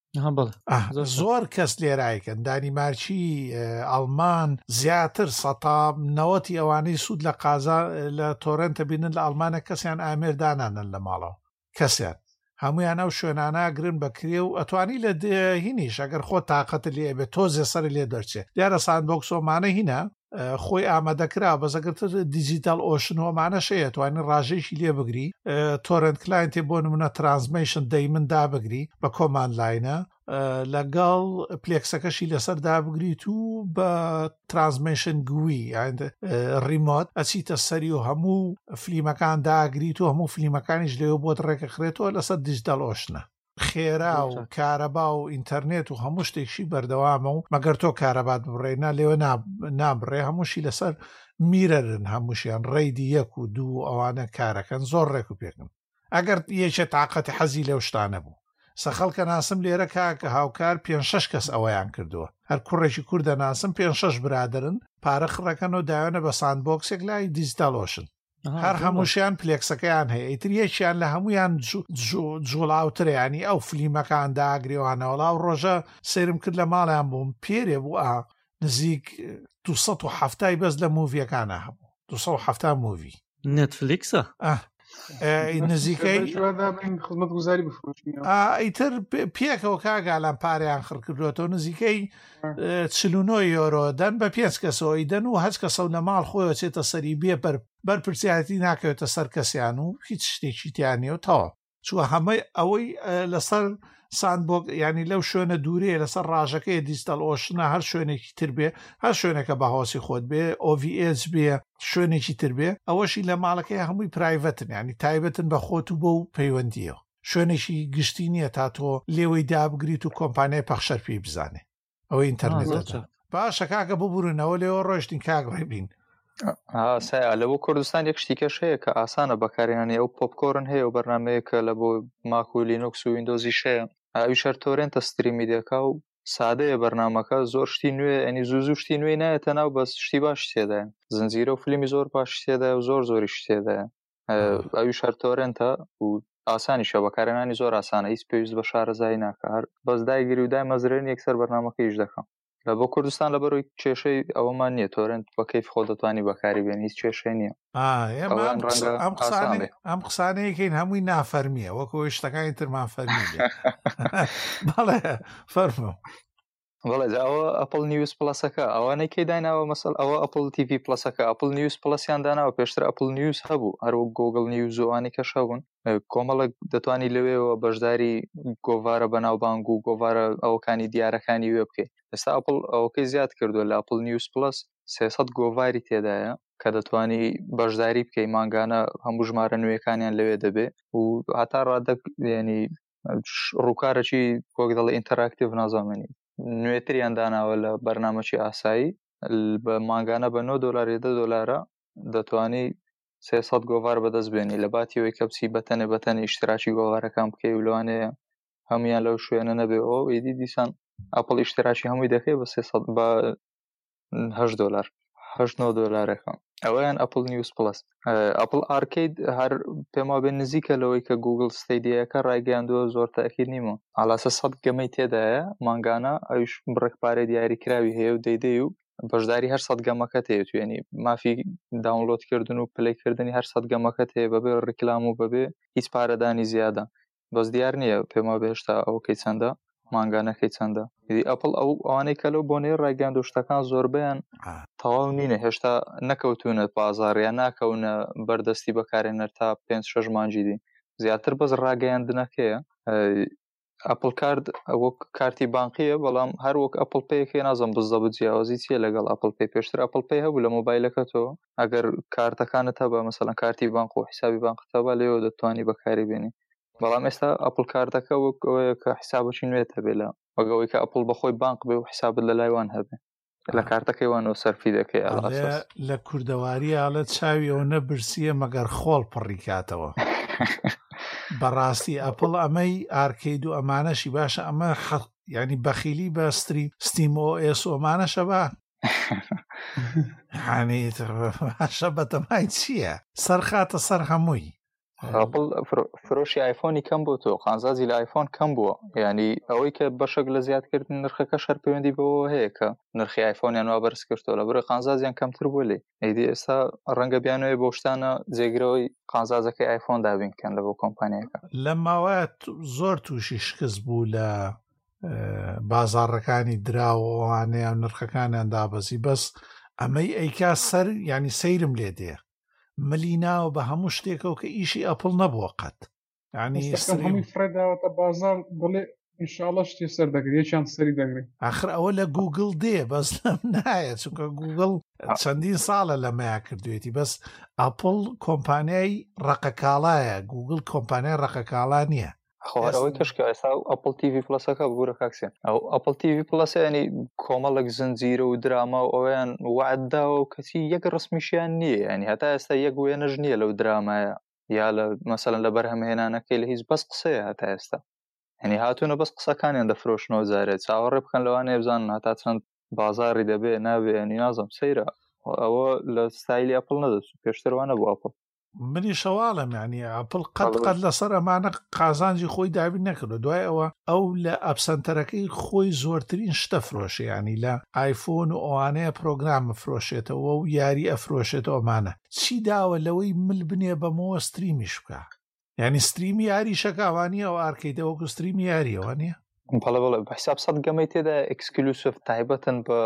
زۆر کەس لێرایکەن دانیمارکی ئەڵمان زیاتر 90 ئەوانەی سوود لە قازا لە تۆرنتە بینن لە ئەڵمانە کەسیان ئامێردانانن لە ماڵەوە کەسیان هەمویان ئەو شوێناناگرن بەکرێ و ئەتوانی لە هینیش ئەگەر خۆ تااقەت لێ بێت تۆزێ سەر لێ دەرچێت دیارە ساندبۆکسۆمانە هینە خۆی ئامادەکرا بەزەگرتر دیجیتال ئۆشنۆمانە شەیە توانین ڕاژەیەکی لێ بگری تۆرنت کلاینتێ بۆ نمونە ترانسمیشن دەیمن دابگری بە کۆمان لاینە لەگەڵ پلێکسەکەشی لەسەر دابگریت و بە ترانسمیشن گووی ریمۆت ئەچیتە سەری و هەموو فلیمەکان داگریت و هەموو فلیمەکانیش لێوە بۆت ڕێکەخرێتەوە لەسەر دیجیتال ئۆشنە خێرا و کارەبا و ئینتەرنێت و هەموو شتێکشی بەردەوامە و مەگەر تۆ کارەبات بڕێنا لێوە نابڕێ هەمووشی لەسەر میرەرن هەمووشیان ڕێیدی 1 و 2 ئەوانە کارەکەن زۆر ڕێک و پێکن ئەگەر یەکێ تااقەتی حەزی لەو شتانە بوو سەخەڵکە ناسم لێرە کاکە هاوکار 5-6 کەس ئەوەیان کردووە هەر کوڕێکی کووردە ناسم 5-6 برادرن پارە خڕەکەن و داوێنە بە ساندبۆکسێک لای دیجیتالۆشن هەر هەمووشیان پلێکسەکەیان هەیە ئیتر یەکیان لە هەمویان جوڵاوترێنی ئەو فلیمەکان داگرێوانەوەڵا و ڕۆژە سێرم کرد لە ماڵیان بووم پێرێ بوو نزیک 270 بەس لە موڤیەکانە هەبوو 270 موڤی نێتفلیکسە نزیکەی خزمەت گوزاری بفرۆشین ئیتر پێکەوە کاگالان پاریان خڕکردوێتەوە نزیکەی 49 یۆرۆ دەن بە 5 کەسەوەی دەن و هەچ کەسە لە ماڵ خۆیەوە چێتە سەری بێ بەرپرسیارەتی ناکەوێتە سەر کەسیان و هیچ شتێکی تیانێ و تەواو چوە هەمەی ئەوەی لەسەر ساندبۆک ینی لەو شوێنە دوورەیە لەسەر ڕاژەکەی دیجیتال ئۆشنە هەر شوێنێکی تر بێ هەر شوێنێکە بەهۆسی خۆت بێ OVH بێ شوێنێکی تر بێ ئەوەشی لە ماڵەکەی هەمووی پرایڤەتن ینی تایبەتن بە خۆت و بۆ و پەیوەندیەوە شوێنێکی گشتی نییە تا تۆ لێوەی دابگریت و کۆمپانیای پەخشەر پێی بزانێ ئەوەی ئینتەرنێتە باشە کاکە ببوورنەوە لێەوە ڕۆشتین کاگڕێ بین لە بۆ کوردستان یەک شتیکەش هەیە کە ئاسانە بەکارێنانی ئەو پۆپکۆرن هەیە و بەرنمەیەکە لە بۆ ماک و لینوکس و ویندۆزی شەیە ئەوی شەر تۆرێنتە ستریمی دەکا و سادەیە بەرنمەکە زۆر شتی نوێ ئەنی زوو شتی نوێی نایەتە ناو بەس شتی باش تێدایە زنجیرە و فیلمی زۆر باش تێدایە و زۆری تێدایە ئەوی شەر تۆرێنتە و ئاسانیشە بەکارێنانی زۆر ئاسانە هیچ پێویست بە شارەزایی ناکە هەر بەس دایگیری و دای مەزرێن یەکسەر بەرنمەکەیش دەکەم لە بۆ کوردستان لە بەرەوەی کێشەی ئەوەمان نییە تۆرنت بە کەیف خۆ دەتوانی بەکاری بێن هیچ کێشەی نییە ئەم قسانەیەکەین هەمووی نافەرمیە وەکو شتەکانی ترمان فەرمی بەڵێ فەرمو بەڵێ ئەوە ئەپل نیوز پلەسەکە ئەوانەی کەی دایناوە مەسەل ئەوە ئەپل TV پلەسەکە ئەپل نیوز پلەسیان داناوە پێشتر ئەپل نیوز هەبوو هەروە گۆگل نیوز و ئەوانەی کەش هەبوون کۆمەڵک دەتوانی لەوێەوە بەشداری گۆڤارە بەناوبانگ و گۆڤارە ئەوەکانی دیارەکانی وێ بکەیت ئێستا ئەپل ئەوەکەی زیاد کردووە لە ئەپل نیوز پلەس 300 گۆڤاری تێدایە کە دەتوانی بەشداری بکەی مانگانە هەموو ژمارە نوێەکانیان لەوێ دەبێ و هەتا ڕادەیانی ڕووکارەکی وەک دەڵێ ئینتەراکتیڤ نازانێنی نوێتریان داناوە لە بەرنامەی ئاسایی بە مانگانە بە $9 دەتوانی 300 گۆڤار بەدەست بێنی لە باتیەوەی کەپسی بەتەنی ئیشتراکی گۆڤارەکان بکەی و لەوانەیە هەمویان لەو شوێنە نەبێ ئەو ئیدی دیسان ئەپل ئیشتراکی هەمووی دەکەی بە 300 بە $8 ئەوەیان ئەپل نیوز پلس ئەپل ئارکید هەر پێما بێن نزیکە لەوەی کە گوگل ستیدیەکە ڕایگەیاندووە زۆر تاکید نیمە ئالاسە 100 گەمەی تێدایە مانگانە ئەوش بڕێکپارێ دیاریکراوی هەیە و دەیدەی و بەشداری هەر سەدگەمەکەت هەیە تو ینی مافی داونلۆدکردن و پلەیکردنی هەر سەدگەمەکەت هەیە بەبێ ڕیکلام و بەبێ هیچ پارەدانی زیادە بەس دیار نییە پێما بێشتا ئەوکەی چەندە مانگانەکەی چەندە ئەپڵ ئەوانەی کە لەو بۆنەی ڕاگەاند و شتەکان زۆربیان تەواو نینە هێشتا نەکەوتونە بازاڕیان ناکەونە بەردەستی بەکارێنەر تا 5-6 مانجی دی زیاتر بەس ڕاگەیاندنەکەیە ئەپل کارد وەک کارتی بانقیە بەڵام هەر وەک ئەپل پێیەکەی نازم بزە بجیاوازی چیە لەگەڵ ئەپل پێی پێشتر ئەپل پێی هەبوو لە مۆبایلەکەتەوە ئەگەر کارتەکانت هەبە مەسەڵەن کارتی بانق و حسابی بانقتەبە لێەوە دەتوانی بەکاری بێنی بەڵام ئێستا ئەپل کارتەکە وەک ئەوەیە کە حسابەکی نوێت هەبێ لە وەگەوەی کە ئەپل بەخۆی بانق بێ و حسابت لە لایوان هەبێ لە کارتەکەیوانەوە سەرفی دەکەی لە کوردەواری ئاڵە چاویەوە نەبرسیە مەگەر خۆڵ پڕی کاتەوە بەڕاستی ئەپڵ ئەمەی ئارکەید و ئەمانەشی باشە ئەمە ینی بەخیلی بە ستیم OS ئەمانەشە بە هانیشە بەتەمای چییە سەرخاتە سەر هەمووی فرۆشی ئایفۆنی کەم بۆ تۆ خانزازی لە ئایفۆن کەم بووە ینی ئەوەی کە بەشێک لە زیادکردن نرخەکە شەر پەیوەندی بەوە هەیە کە نرخی ئایفۆنیان وا بەرز کردەوە لە بڕێ خانزازیان کەمتر بوو لێ ئەیدی ئێستا ڕەنگە بیانوێ بۆ شتانە جێگرەوەی خانزازەکەی ئایفۆن دابینکەن لە بۆ کۆمپانیەکە لە ماوەیە زۆر تووشی شکست بوو لە بازاڕەکانی دراوەوانەیە و نرخەکانیان دابەزی بەس ئەمەی ئەیکا سەر ینی سەیرم لێ دێ ملی ناوە بە هەموو شتێکەوە کە ئیشی ئەپڵ نەبووە قەت ینی هەمووی فرێداوەتە بازار بڵێ ئینشاءڵڵا شتێ سەر دەگرێت یەکیان سەری دەگرێت ئاخر ئەوە لە گوگل دێ بەس لەم نایە چونکە گوگل چەندین ساڵە لەمەیە کردوێتی بەس ئەپڵ کۆمپانیای ڕقەکاڵایە گوگل کۆمپانیای ڕقەکاڵا نییە خۆەوەی کەشکە ئێستا ئەپل TV پلسەکە بگورە کاکسێن ئەو ئەپل TV پلس ینی کۆمەڵک زنجیرە و دراما و ئەویان وعدداوە و کەسی یەک ڕسمیشیان نییە ینی هەتا ئێستا یەک وێنەژ نییە لەو درامایە یا لە مەسەلەن لە بەرهەمهێنانەکەی لە هیچ بەس قسەیە هەتا ئێستا ینی هاتوونە بەس قسەکانیان دەفرۆشنەوە جارێت چاوەڕێ بکەن لەوانەیە بزانن هەتا چەند بازاری دەبێ نابێ ینی نازم سەیرە ئەوە لە ستایلی ئەپل نەدەچوو پێشتروانە بوو ئەپل منی شەواڵم ینی ئەپڵ قەت لەسەر ئەمانە قازانجی خۆی دابین نەکردو دوای ئەو لە ئەپسەنتەرەکەی خۆی زۆرترین شتە فرۆشە ینی لە ئایفۆن و ئەوانەیە پرۆگرامە فرۆشێتەوە و یاری ئەفرۆشێتەوە ئەمانە چی داوە لەوەی مل بنێ بەمەوە ستریمیش بکە ینی ستریمی یاری شەکاوانی ئەو ئارکەیتەوەکو ستریمی یاریەوە نییە بەڵێ بەحساب سەد گەمەی تێدا ئەکسکلوسیڤ تایبەتن بە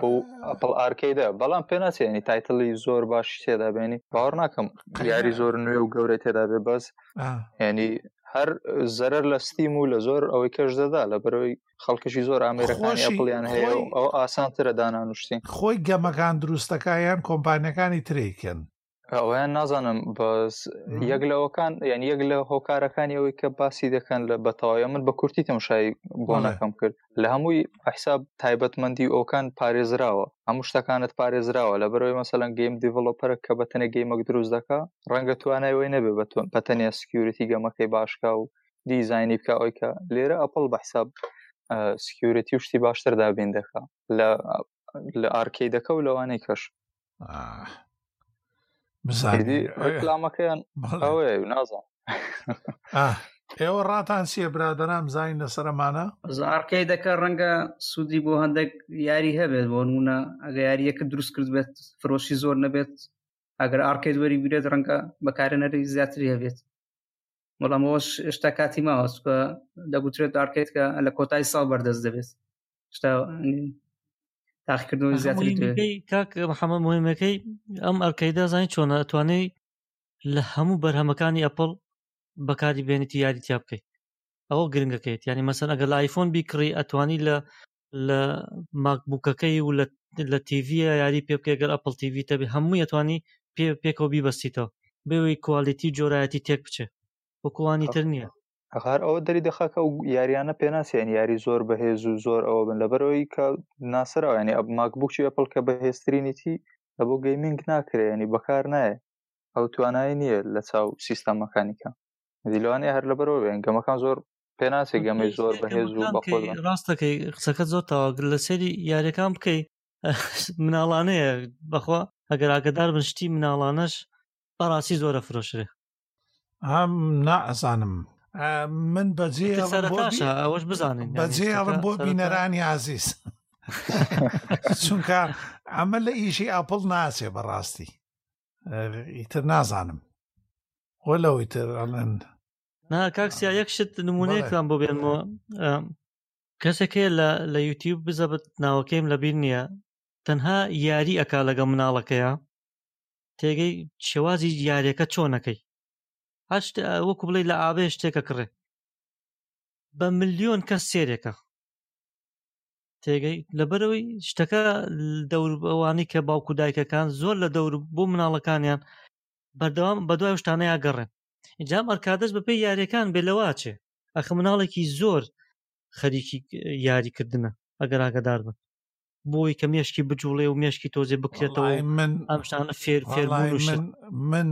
ئەپل ئارکەیدا بەڵام پێ ناچێنی تایتڵی زۆر باش تێدا بێنی باوەڕ ناکەم یاری زۆر نوێ و گەورەی تێدا بێ بەس ینی هەر زەرەر لە ستیم و لە زۆر ئەوەی کەش دەدا لە بەرەوەی خەڵکشی زۆر ئامێرەکانی ئەپڵیان هەیە و ئەو ئاسانترە دانانوشتین خۆی گەمەکان دروستەکەیان کۆمپانیەکانی ترێکن ئەویان نازانم بەس یەک لەوەکان یعنی یەک لە هۆکارەکانی ئەوەی کە باسی دەکەن لە بەتەواوی من بە کورتی تەماشای بۆ نەکەم کرد لە هەمووی حساب تایبەتمەندی ئەوکان پارێزراوە هەموو شتەکانت پارێزراوە لە بەرەوەی مەسەلەن گەیم دیڤلۆپەرە کە بەتەنە گەیمەک دروست دەکا ڕەنگە توانایەوەی نەبێ بەتەنیا سکیوریتی گەمەکەی باشکا و دیزایانی بکە ئەوی کە لێرە ئەپڵ بە حساب سکیوریتی و شتی باشتر دابین دەکا لە ئارکەیدەکە و لەوانەی کەش ڕکلامەکەیان ئەوەیە نازان ئێوە ڕاتان چیە برادەرام زین لەسەرمانە ئارکەی دەکە ڕەنگە سوودی بۆ هەندێک یاری هەبێت بۆ نمونە ئەگە یاریەکە دروست کرد بێت فرۆشی زۆر نەبێت ئەگەر ئارکەید وەری بێت ڕەنگە بەکارێنەری زیاتری هەبێت بەڵام ئەوەش هێشتا کاتی ماوە کە دەگوترێت ئارکەید کە لە کۆتای ساڵ بەردەست دەبێت شتا تاقیکردنەوەی زیاتری کاک محەممەد مهمەکەی ئەم ئەرکەیدا زانانی چۆنە ئەتوانێت لە هەموو بەرهەمەکانی ئەپڵ بەکاری بێنێتی یاریتیا بکەیت ئەوە گرنگەکەیت ینی مەسەن ئەگەر لە ئایفۆن بیکڕی ئەتوانی لە ماکبووکەکەی و لە تیڤە یاری پێ بکە گەر ئەپڵ تیڤ تەبێ هەمووی ئەتوانی پێکەوە بیبەستیتەوە بێەوەی کوالیتی جۆرایەتی تێک بچێ وەکوانی تر نییە هەر ئەوە دەری دەخاکە و یاریانە پێناسیێن یاری زۆر بەهێز و زۆر ئەوە بن لەبەرەوەی کە ناسرەوە ینی ماکبووکی ئەپڵ کە بەهێزترینیتی لە بۆ گەیمینگ ناکرێ ینی بەکار نایە ئەو توانایی نییە لە چاو سیستەمەکانیکە دیلوانەیە هەر لەبەرەوە بێن گەمەکان زۆر پێناسی گەمەی زۆر بەهێز و بەخۆ ڕاستەکەی قسەکە زۆر تاواگر لە سەری یاریەکان بکەی مناڵانەیە بەخوا ئەگەر ئاگدار بن شتی مناڵانەش بەڕاستی زۆرە فرۆشرێ ئەم نائزانم من بەجێ ئەوەش بزانین بەجێڵم بۆ بینەرانی عزیز چونکە ئەمە لە ئیشی ئاپڵ ناچێ بەڕاستی ئیتر نازانم وەلەوەی تر ئەڵێن نا کاکسیا یەک شت نمونەیەکتان بۆ بێنمەوە کەسێکێ لە یوتیوب بزەبت ناوەکەیم لەبیر نییە تەنها یاری ئەکا لەگە مناڵەکەیە تێگەی شێوازی یاریەکە چۆنەکەی هەشت وەکو بڵێ لە ئاوێ شتێکە کڕێ بە ملیۆن کەس سێرێکە تێگەی لەبەرەوەی شتەکە دەور ئەوانی کە باوکو دایکەکان زۆر لە دەور بۆ مناڵەکانیان بەردەوام بەدوای شتانەیە گەڕێن ئینجام ئەرکادەس بەپێی یاریەکان بێلەواچێ ئەخە مناڵێکی زۆر خەریکی یاریکردنە ئەگەر ئاگادار بن بۆی کە مێشکی بجوڵێ و مێشکی تۆزێ بکرێتەوە ئەم شتانە فێربوون من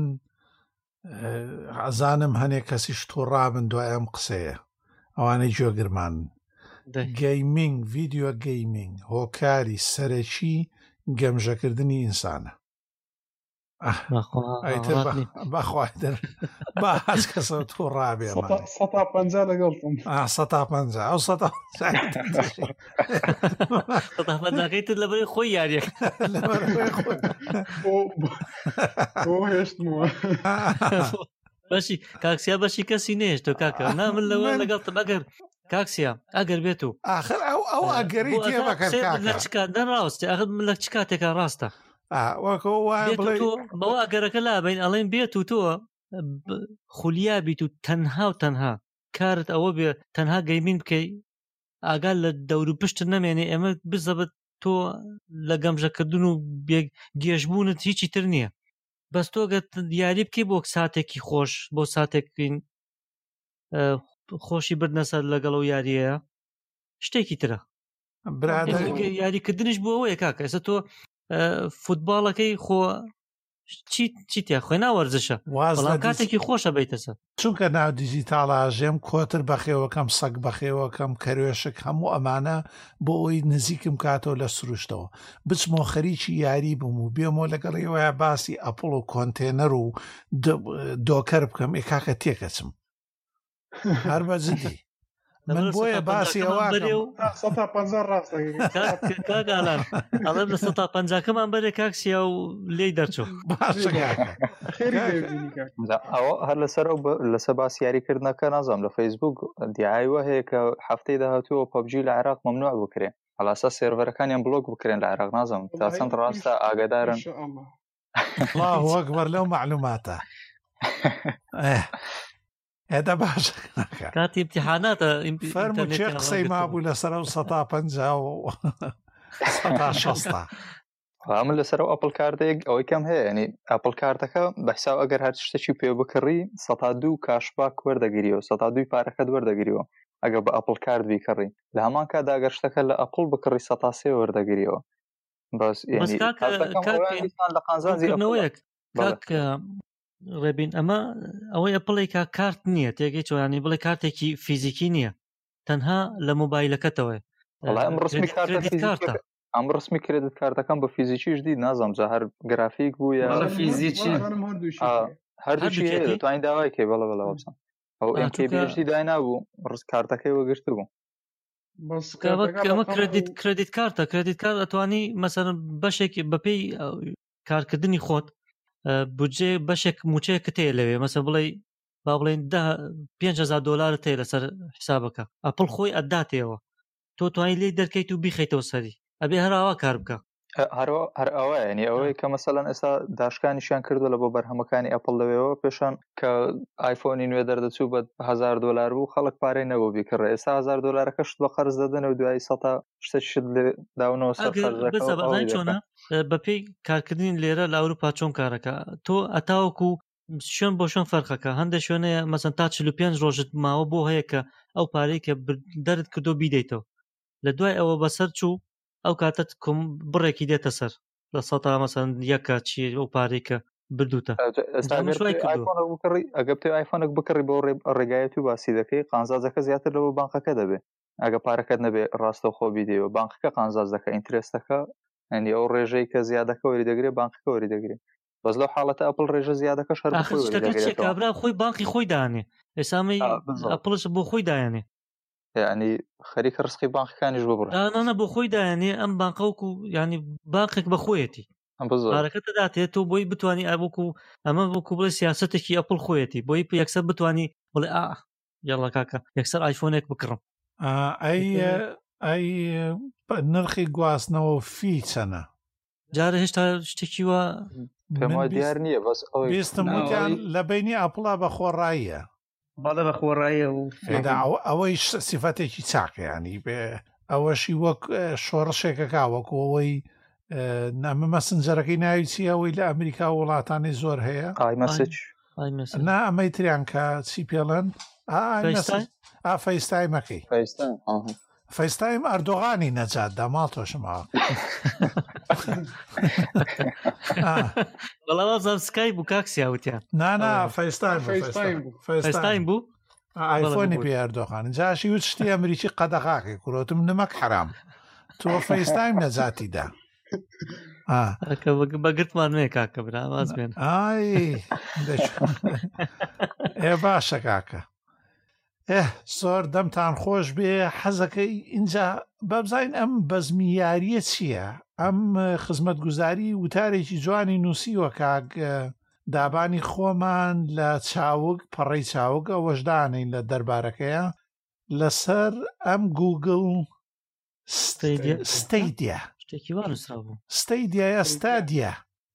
ئازانم هەنێک کەسیش تۆڕابن دوای ئەم قسەیە ئەوانەی جۆگرمان گەیمینگ ڤیدیۆ گەیمینگ هۆکاری سەرەکی گەمژەکردنی ئینسانە بەخوادر با هەز کەسە تۆ ڕابێ 150 لەگەڵتم 150 ئەو 150 تر لەبەرەی خۆی یاریەکە هێشتمەوە بەشی کاکسیا بەشی کەسی نێشتۆ کاکە نا من لەوە لەگەڵتم ئەگەر کاکسیا ئەگەر بێت و ئاخر ئەو ئەگەری تێ بەکەر لە چ کاتدا ڕاستە ئەخر من لە چ کاتێکە ڕاستە بەوە ئەگەرەکە لابین ئەڵێن بێت و تۆ خولیا بیت و تەنها کارت ئەوە بێ تەنها گەیمین بکەی ئاگال لە دەور و پشت نەمێنێ ئێمە بزەبت تۆ لە گەمژەکردن و گێژبوونت هیچی تر نییە بەس تۆگەت یاری بکەی بۆ ساتێکی خۆش بۆ ساتێکین خۆشی بردنە سەر لەگەڵ و یاریەیە شتێکی ترە یاریکردنش بۆ ئەوەیە کاکە ئێستا تۆ فوتباڵەکەی خۆ چیتە خوێ ناوەرزشە بەڵام کاتێکی خۆشە بیتەسە چونکە ناو دیجیتاڵە ژێم کۆتر بەخێوەکەم سەگ بەخێوەکەم کەروێشک هەموو ئەمانە بۆ ئەوی نزیکم کاتەوە لە سروشتەوە بچمۆ خەریکی یاری بووم و بێمەوە لەگەڵیەوەیە باسی ئەپڵ و کۆنتێنەر و دۆکەر بکەم ئێکاکە تێکەچم هەر بەجددی من بۆیە باسی ئەوە 150 ڕاستەکەگالان ئەڵێم لە 150کەمان بەرێ کاکسیا و لێی دەرچوو ئەوە هەر لەسەر باسی یاریکردنەکە نازانم لە فەیسبوک دیایوە هەیە کە هەفتەی داهاتووە پەبجی لە عێراق مەمنوع بکرێن هەڵاسا سێرڤەرەکانیان بلۆک بکرێن لە عێراق نازانم تا چەند ڕاستە ئاگادارن الله ئەکبەر لەو معلوماتە هذا باش كانت امتحانات فرمو شي قصي ما ابو لسرا وسطا بنجا و سطا شسطا عامل لسرا ابل كارد او كم هي يعني ابل كاردك بحساب اگر هر شتي بيو بكري سطا دو كاشباك وردگيريو سطا دو باركد وردگيريو اگر بابل كارد بيكري لهمان كاد اگر شتك لابل بكري سطا سي وردگيريو بس يعني بس كاك ڕێبین ئەمە ئەوەی ئەپڵێکا کارت نییە تێگەی چۆیانی بڵێ کارتێکی فیزیکی نییە تەنها لە مۆبایلەکەتەوە ئەم ڕسمی کرێدت کارتەکەم بە فیزیکیش دی نازانم جا هەر گرافیک بوو یا فیزیکی هەردووشی توانین داوای کێ بەڵە بەڵەوەسان ئەو MKBHD دای نابوو ڕست کارتەکەی وەگرت بوو ئەمە کردیت کارتە کردیت کارت ئەتوانی مەسەر بەشێک بەپێی کارکردنی خۆت بودجێ بەشێک موچەیەکە تێ لەوێ مەسە بڵێ با بڵێن $5,000 تێ لەسەر حسابەکە ئەپڵ خۆی ئەداتێەوە تۆ توانی لێ دەرکەیت و بیخەیتەوە سەری ئەبێ هەراوە کار بکە هەر ئەوە ینی ئەوەی کە مەسەلەن ئێستا داشکانیشیان کردو لە بۆ بەرهەمەکانی ئەپڵ لەوێەوە پێشان کە ئایفۆنی نوێ دەردەچوو بە $1,000 بوو خەڵک پارەی نەبوو بیکڕێ ئێستا $1,000کەشت بە قەرز دەدەن و دوای سەتا شتێکشت داونەوە چۆنە بەپێی کارکردنی لێرە لە ئەوروپا چۆن کارەکە تۆ ئەتاوەکو شوێن بۆ شوێن فەرقەکە هەندێک شوێنەیە مەسەن تا 45 ڕۆژت ماوە بۆ هەیە کە ئەو پارەی کە دەرت کردو بیدەیتەوە لە دوای ئەوە بەسەر چوو ئەو کاتت کوم بڕێکی دێتە سەر لە سەتا مەسەن یەکە چی ئەو پارەی کە بردوتە ئەگەر تێ ئایفۆنێک بکڕی بۆ ڕێگایەتی و باسی دەکەی قانزازەکە زیاتر لەوە بانقەکە دەبێت ئەگە پارەکەت نەبێ ڕاستە خۆ بیدەوە بانقەکە قانزاز دەکە ئینترێستەکە ئەنی ئەو ڕێژەی کە زیادەکە وەری دەگرێت بانقەکە وەری دەگرێت بەس لەو حاڵەتە ئەپڵ ڕێژە زیادەکەش کابرا خۆی بانقی خۆی دانێ ئێسامی ئەپڵش بۆ خۆی دایانێ يعني خەریکە ڕسقی بانقەکانیش ببڕن. نە بۆ خۆی دایانێ ئەم بانقەوەکو ینی بانقێک بەخۆیەتی بارەکەتە داتێت و بۆی بتانی ئابووکو ئەمە بۆکو بڵێ سیاسەتێکی ئەپڵ خۆیەتی بۆی یەکسەر بتانی بڵێ یاڵە کاکە یەکسەر ئایفۆنێک بکڕم. ئەی نرخی گواستنەوە فی چەنە؟ جارە هێشتا شتێکی وە پێما دیار نییە بەس بیستم وتیان لە بینی ئەپڵا بە خۆڕاییە. بەڵێ بە خۆڕاییە و ئەوەی سیفەتێکی چاکەیانی بێ ئەوەشی وەک شۆڕشێکەکە وەکەوەی نامە مەسنجەرەکەی ناوی چی ئەوەی لە ئەمریکا وڵاتانی زۆر هەیە نا ئەمەی تریان کە چی پێڵەن فەیستایمەکەی فەیستایم ئەردۆغانی نەجات دەماڵ تۆشمەوە بەڵاوازم سکای بوو کاکسیاوتیان نانا فەیستایم بوو ئایفۆنی پێ ئەردۆغان جاشی وت شتی ئەمریکی قەدەغاکەی کوڕۆتم نمەک حرام تۆ فەیستایم نەجاتیدا بەگرتمان نوێ کاکە براواز بێن باشە کاکە زۆر دەمتان خۆش بێ حەزەکەی اینجا بەبزین ئەم بەزمیاریە چییە؟ ئەم خزمەتگوزاری وتارێکی جوانی نووسیوە کاک دابانی خۆمان لە چاوگ پەڕەی چاوگ ئەوەشدانین لە دەربارەکەیە لەسەر ئەم گوگل ستەیدیا شتێکی وا نووسرا بوو ستەیدیایە ستادیە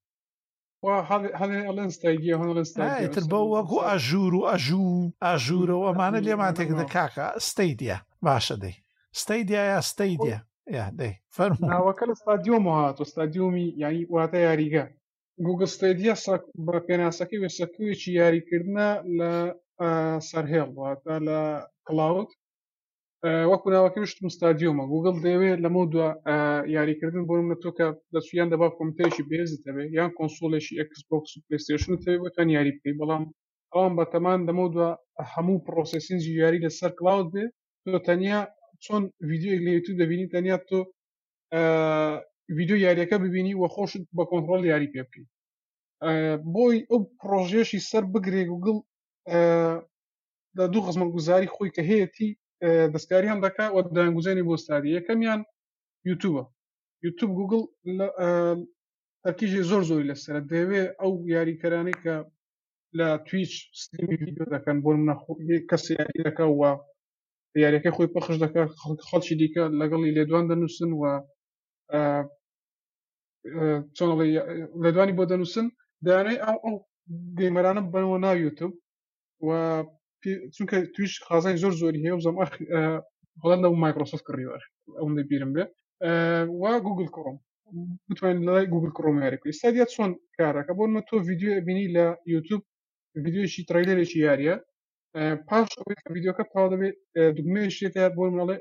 تر بە وەکو ئەژور و ئەژوورە و ئەمانە لێمان تێکدە کاکە ستەیدیا باشە دەی ستەیدیایە ستەیدیا دەی ناوەکە لە ستادیۆمەوە هاتۆ ستادیۆمی یانی واتە یاریگە گوگل ستەیدیا بە پێناسەکەی وێسەکوێکی یاریکردنە لە سەرهێڵ واتە لە کلااود وەکو ناوەکە وشتم ستادیۆمە گوگل دەوێت لەمە دووە یاریکردن بۆ منە تۆ کە دەچیان دەبا کۆمپیوتەرێکی بێزت هەبێ یان کۆنسۆلێکی ئەکسبۆکس و پلەیستێشن هەبێ بۆتان یاری بکەیت بەڵام ئەوان بەتەمان دەمە دووە هەموو پرۆسسینجی یاری لەسەر کلااود بێ تۆ تەنیا چۆن ڤیدیۆیەک لە یوتیوب دەبینی تەنیا تۆ ڤیدیۆ یاریەکە ببینی وە خۆشت بە کۆنتڕۆڵ یاری پێ بکەیت بۆی ئەو پرۆژێشی سەر بگرێ گوگل لە دوو خزمەتگوزاری خۆی کە هەیەی دەستکاریان دەکا و دایانگوزێنی بۆ ستادی یەکەمیان یوتیوبە یوتیوب گوگل تەرکیزی زۆری لەسەرە دەوێ ئەو یاریکەرانی کە لە تویچ ستریمی ڤیدیۆ دەکەن بۆ کەسی یاری دەکا و یاریەکەی خۆی پەخش دەکات خەڵکی دیکە لەگەڵی لێدوان دەنووسن و چۆن لێدوانی بۆ دەنووسن دەیانەوێت ئەو گەیمەرانە بنەوە ناو یوتیوب و چونکە تویش خازای زۆری هەیە و زەم بەڵام لەو مایکرۆسۆفت کڕیوە ئەوەندە بیرم بێ و گوگل کڕۆم بتوانین لەلای گوگل کڕۆم یاریکەی ستادیا چۆن کارەکە بۆ تۆ ڤیدیۆ بینی لە یوتیوب ڤیدیۆشی ترەیلەرێکی یاریە پاش ڤیدیۆکە تاوا دەبێت دوگمەیەشێتە بۆ منەڵێ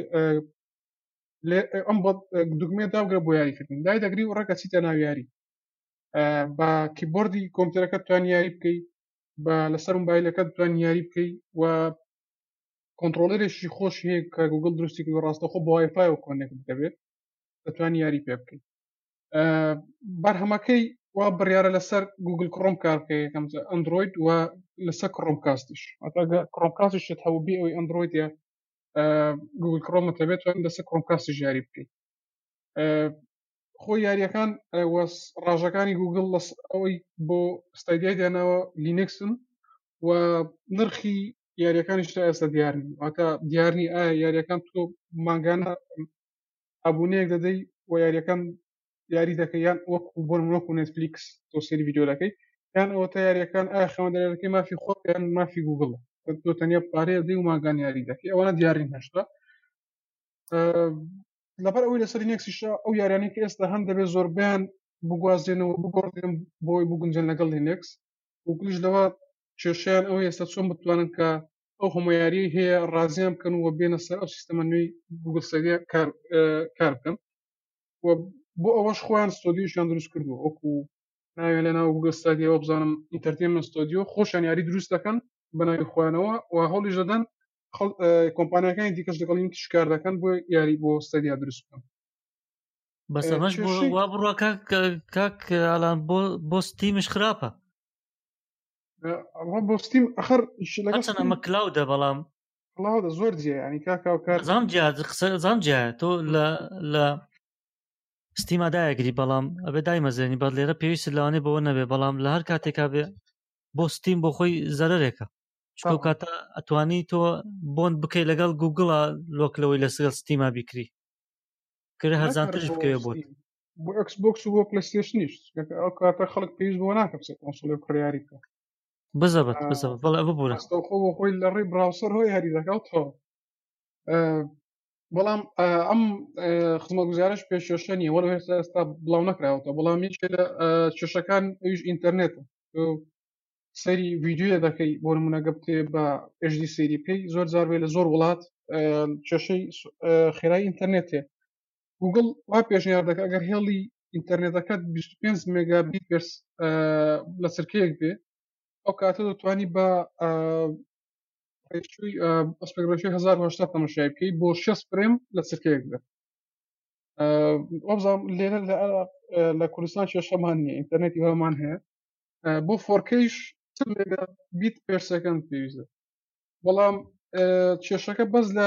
ئەم دوگمێ داگرە بۆ یاریکردن دای دەگری و ڕێکە چیتە ناو یاری بە کیبۆردی کۆمپیوتەرەکە توان یاری بکەیت بە لەسەر مۆبایلەکە توان یاری بکەیت و کۆنتڕۆلەرێکی خۆش هەیە کە گوگل دروستی کردووە ڕاستەخۆ بە وایفایەوە کۆنێکت دەبێت دەتوانانی یاری پێ بکەیت بەرهەمەکەی وا بڕیارە لەسەر گوگل کڕۆم کار بکەیت یەکەم ئەندروید و لەسەر کڕۆم کاستش کڕۆم کاستش هەبوو بێ ئەوەی ئەندرویدە گوگل کڕۆمە دەبێت توانین لەسەر کڕۆم کاستش یاری بکەیت خۆی یاریەکان ڕاژەکانی گوگل ئەوەی بۆ ستایدیای دێناوە لینکسن و نرخی یاریەکانیش تا ئێستا دیارنی واتە دیارنی ئایا یاریەکان تۆ ماگانە ئابوونەیەک دەدەی و یاریەکان یاری دەکەی یان وەکو بۆ وەکو نێتفلیکس تۆ سەری ڤیدیۆ دەکەی یان ئەوە تا یاریەکان ئایا خەوەندەرەکەی مافی خۆت یان مافی گوگڵە تۆ تەنیا پارەیە دەی و ماگان یاری دەکەی ئەوانە دیارین هەشتا لەبەر ئەوەی لەسەر لینکسیشە ئەو یارانەی کە ئێستا هەم دەبێت زۆربیان بگوازێنەوە بگۆڕێن بۆی بگونجێن لەگەڵ لینکس وگلیش لەوە کێشیان ئەو ئێستا چۆن بتوانن کە ئەو هەموو یاری هەیە ڕازیان بکەن و بێنە سەر ئەو سیستەمە نوێی گوگل ستادیا کار بکەن و بۆ ئەوەش خۆیان ستۆدیۆشیان دروست کردووە وەکو ناوێ لە ناو گوگل ستادیەوە بزانم ئینتەرتێنمنت ستۆدیۆ خۆشیان یاری دروست دەکەن بە ناوی خۆیانەوە و هەوڵیش دەدەن کۆمپانیەکانی دیکەش لەگەڵ شکار دەکەن بۆ یاری بۆ ستادیا دروست بکەن بەس ئەمەش وا بڕوە کاک ئالان بۆ ستیمش خراپە بۆ ستیم ئەخەر ئەمە کلاودە بەڵام والله هذا زۆر جێ ینی کاکا و کات زام جا تۆ لە ستیمادایەگری بەڵام ئەبێ دایمەزێنی بە لێرە پێویست لەوانێ بەوە نەبێ بەڵام لە هەر کاتێکا بێ بۆ ستیم بۆ خۆی زەرەرێکە چکە کاتە ئەتوانی تۆ بۆن بکەی لەگەڵ گوگڵە لۆکلەوەی لەسەر ستیما بیکری کرێ هەرزانترش بکەوێ بۆت بۆ ئەکسبۆکس و بۆ پلەیستێشنیش ئەو کاتە خەڵک پێویست بۆ ناکە بچێت کۆنسۆڵێ کڕیاری بکە بزەبەت بەڵێ ببوورە خۆ بۆ خۆی لە ڕێی براوسەر هۆی هەری دەکەوتەوە بەڵام ئەم خزمەتگوزارش پێشێشە نیە وەڵ ئێستا بڵاو نەکراوەتە بەڵام هیچ لە کێشەکان ئەویش ئینتەرنێتە سەری ڤیدیۆیە دەکەی بۆ نمونەگە بتێ بە HD سەیری بکەی زۆر جار بێ لە زۆر وڵات کێشەی خێرای ئینتەرنێتێ گوگڵ وا پێشنیار دەکە ئەگەر هێڵی ئینتەرنێتەکەت 25 مێگابیت پێرس لە چرکەیەک بێ ئەو کاتە دەتوانی بە ئەسپێکڕێشەی 1080 تەماشای بکەی بۆ 6 فرێم لە چرکەیەک بێت وەبزانام لێرە لە کوردستان کێشەمان نییە ئینتەرنێتی هەمان هەیە بۆ 4Kش بیت پێر سەکەند پێویستە بەڵام کێشەکە بەس لە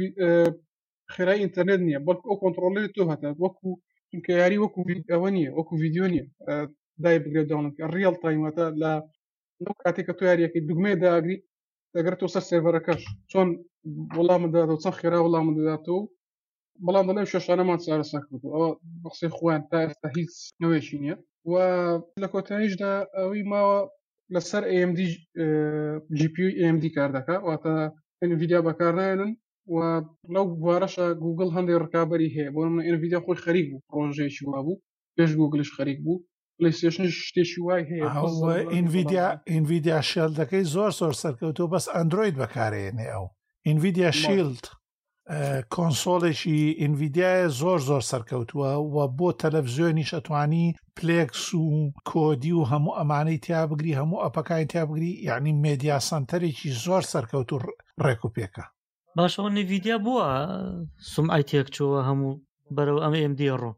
خێرای ئینتەرنێت نییە بەڵکو ئەو کۆنتڕۆلەری تۆ هەتا وەکو چونکە یاری وەکو ئەوە نییە وەکو ڤیدیۆ نییە دای بگرێت داڵنکە ڕیڵ تایمەتە لە نەو کاتێککە تۆ یاریەکەی دوگمێ داگری دەگرێت تۆ سەر سێڤەرەکەش چۆن وەڵامە دادەوە چەند خێرا وەڵامە دەداتەوە بەڵام دەڵێ شێشانەمان چارەسەر کردو ئەوە بەقسەی خۆیان تا ئێستا هیچ نوێشی نییە و لە کۆتاییشدا ئەوەی ماوە لەسەر AMD GPU AMD کار دەکات واتە NVIDIA بەکارنایەنن و لەو بوارەشە گوگڵ هەندێک ڕکابەری هەیە بۆ من NVIDIA خۆی خەریک بوو پرۆژەیەکی وا بوو پێش گوگلش خەریک بوو پلەیستێشنش شتێکی وای هەیە NVIDIA شیلدەکەی زۆر سەرکەوتوە بەس ئەندروید بەکارێنێ ئەو NVIDIA شیلد کۆنسۆڵێکی ئینڤیدیایە زۆر سەرکەوتووە و بۆ تەلەڤزیۆنیش ئەتوانی پلێکس و کۆدی و هەموو ئەمانەی تیا بگری هەموو ئەپەکانی تیا بگری یعنی مێدیا سنتەرێکی زۆر سەرکەوت و ڕێک و پێکە باشەوە نڤیدیا بووە سومعی تێکچووە هەموو بەرەو ئەم AMD ڕۆ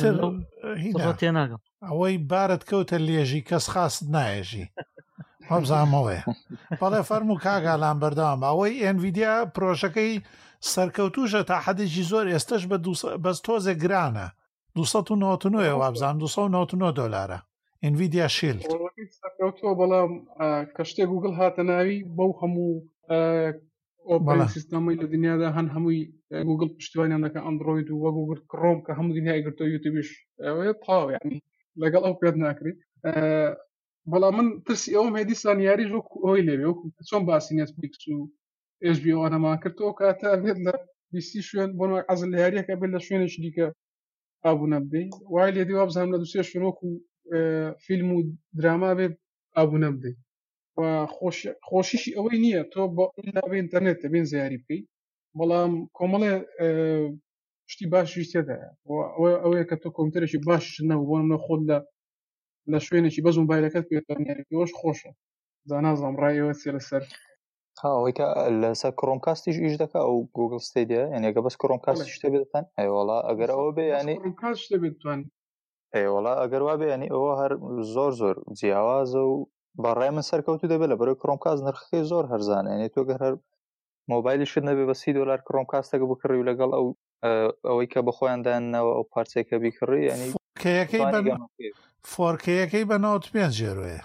تێناگەم ئەوەی بارت کەوتە لێژی کەس خاست نایەژی هەبزانەوەیە بەڵێ فەرموو کاگالان بەردەوام ئەوەی NVIDIA پرۆژەکەی سەرکەوتوژە تا حەدێکی زۆر ئێستش بەس تۆزێک گرانە 299 وابزان $299 NVIDIA شیلد سەرکەوتووە بەڵام کە شتێک گوگڵ هاتە ناوی بەو هەموو ئۆپەرەتینگ سیستەمەی لە دنیادا هەن هەمووی گوگڵ پشتیوانیان دەکە ئەندڕۆید و وە گوگڵ کڕۆم کە هەموو دنیای گرتۆ یوتیوبیش ئەوەیە تاو یعنی لەگەڵ ئەو پێت ناکرێت بەڵام من ترسی ئەوم هەیە دیسان یاریش وەکو ئەوەی لێبێ وەکو چۆن باسی نێتفلیکس و HBO ئەنەمان کردەوە کاتە بێت لە بیستی شوێن بۆ عەزل لە یاریەکە بێت لە شوێنێکی دیکە ئابوونە بدەیت وای لێ دیوە بزانم لە دووسێ شوێن وەکو فیلم و دراما بێت ئابوونە بدەیت و خۆشیشی ئەوەی نییە تۆ بە ئینتەرنێت بێن زیاری بکەیت بەڵام کۆمەڵێ شتی باشی تێدایە ئەوەیە کە تۆ کۆمپیوتەرێکی باش نەبوو بۆ منە خۆت لە شوێنێکی بەز موبایلەکەت پێوەش خۆشە زانازام ڕایەوە چێ لەسەر ئەوەی کە لەسەر کڕۆمکاستیش ئیش دەکا ئەو گوگل ستیدیا یعنیەکە بەس کڕۆمکاستی شتێ بێتتان ئەیوەڵا ئەگەر ئەوە بێ ینی شتێ بێتوان ئەیوەڵا ئەگەر وا بێ ینی ئەوە هەر زۆر جیاوازە و بەڕای من سەرکەوتو دەبێت لە بەرەوەی کڕۆمکاست نرخەکەی زۆر هەرزانە ینی تۆ گەر هەر مۆبایلیشت نەبێ بە $30 کڕۆمکاستەکە بکڕی و لەگەڵ ئەوەی کە بەخۆیاندانەوە ئەو پارچێکە بیکڕی ینی فۆرکەیەکەی بە 95 جێروەیە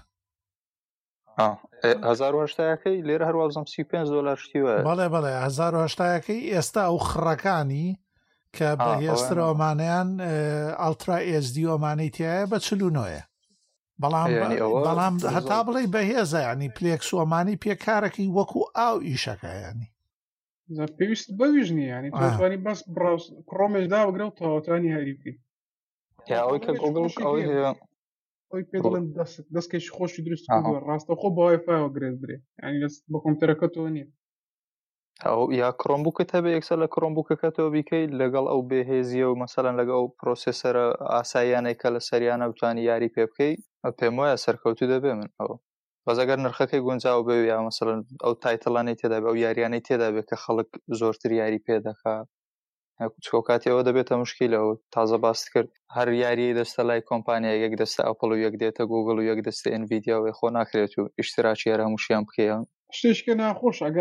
1970ەکەی لێرە هەروازم $35 شتیوە بەڵێ 1970ەکەی ئێستا ئەو خڕەکانی کە بەهێسترەوەمانیان ئەڵترا SD ئۆمانەی تایە بە 49 بەڵام هەتا بڵێ بەهێزە ینی پلێکس ئۆمانی پێکارەکەی وەکو ئاو ئیشەکە ینی پێویست بەویژ نیە ینی توانی بەس کڕۆمێشدا بگرە و تاوەتانی هەری بکەیت ئەوەی کە گوگڵ ئەوەی هەیە ئەوی پێ دڵێن دەستکەش خۆشی دروست کردووە ڕاستە خۆ بەوای فایەوە گرێت برێ ینی بە کۆمپیوتەرەکەتەوە نییە ئەو یا کڕۆمبووکت هەبێ یەکسەر لە کڕۆمبووکەکەتەوە بیکەیت لەگەڵ ئەو بێهێزیە و مەسەلەن لەگە ئەو پرۆسێسەرە ئاساییانەی کە لە سەریانە بتوانی یاری پێ بکەیت پێم وایە سەرکەوتو دەبێ من ئەوە بەزەگەر نرخەکەی گونجاو بێ یا مەسەلەن ئەو تایتڵانەی تێدا بێ ئەو یاریانەی تێدا بێت کە خەڵک زۆرتر یاری پێ دەکات کاتیەوە دەبێتە مشکیلەوە تازە باست کرد هەر یاری دەستە لای کۆمپانیا یەک دەستە ئەپڵ و یەک دێتە گوگڵ و یەک دەستە NVIDIA و خۆ ناکرێت و ئیشتراکی هەر هەمووشیان بکەیە شتێشکە ناخۆش ئەگەر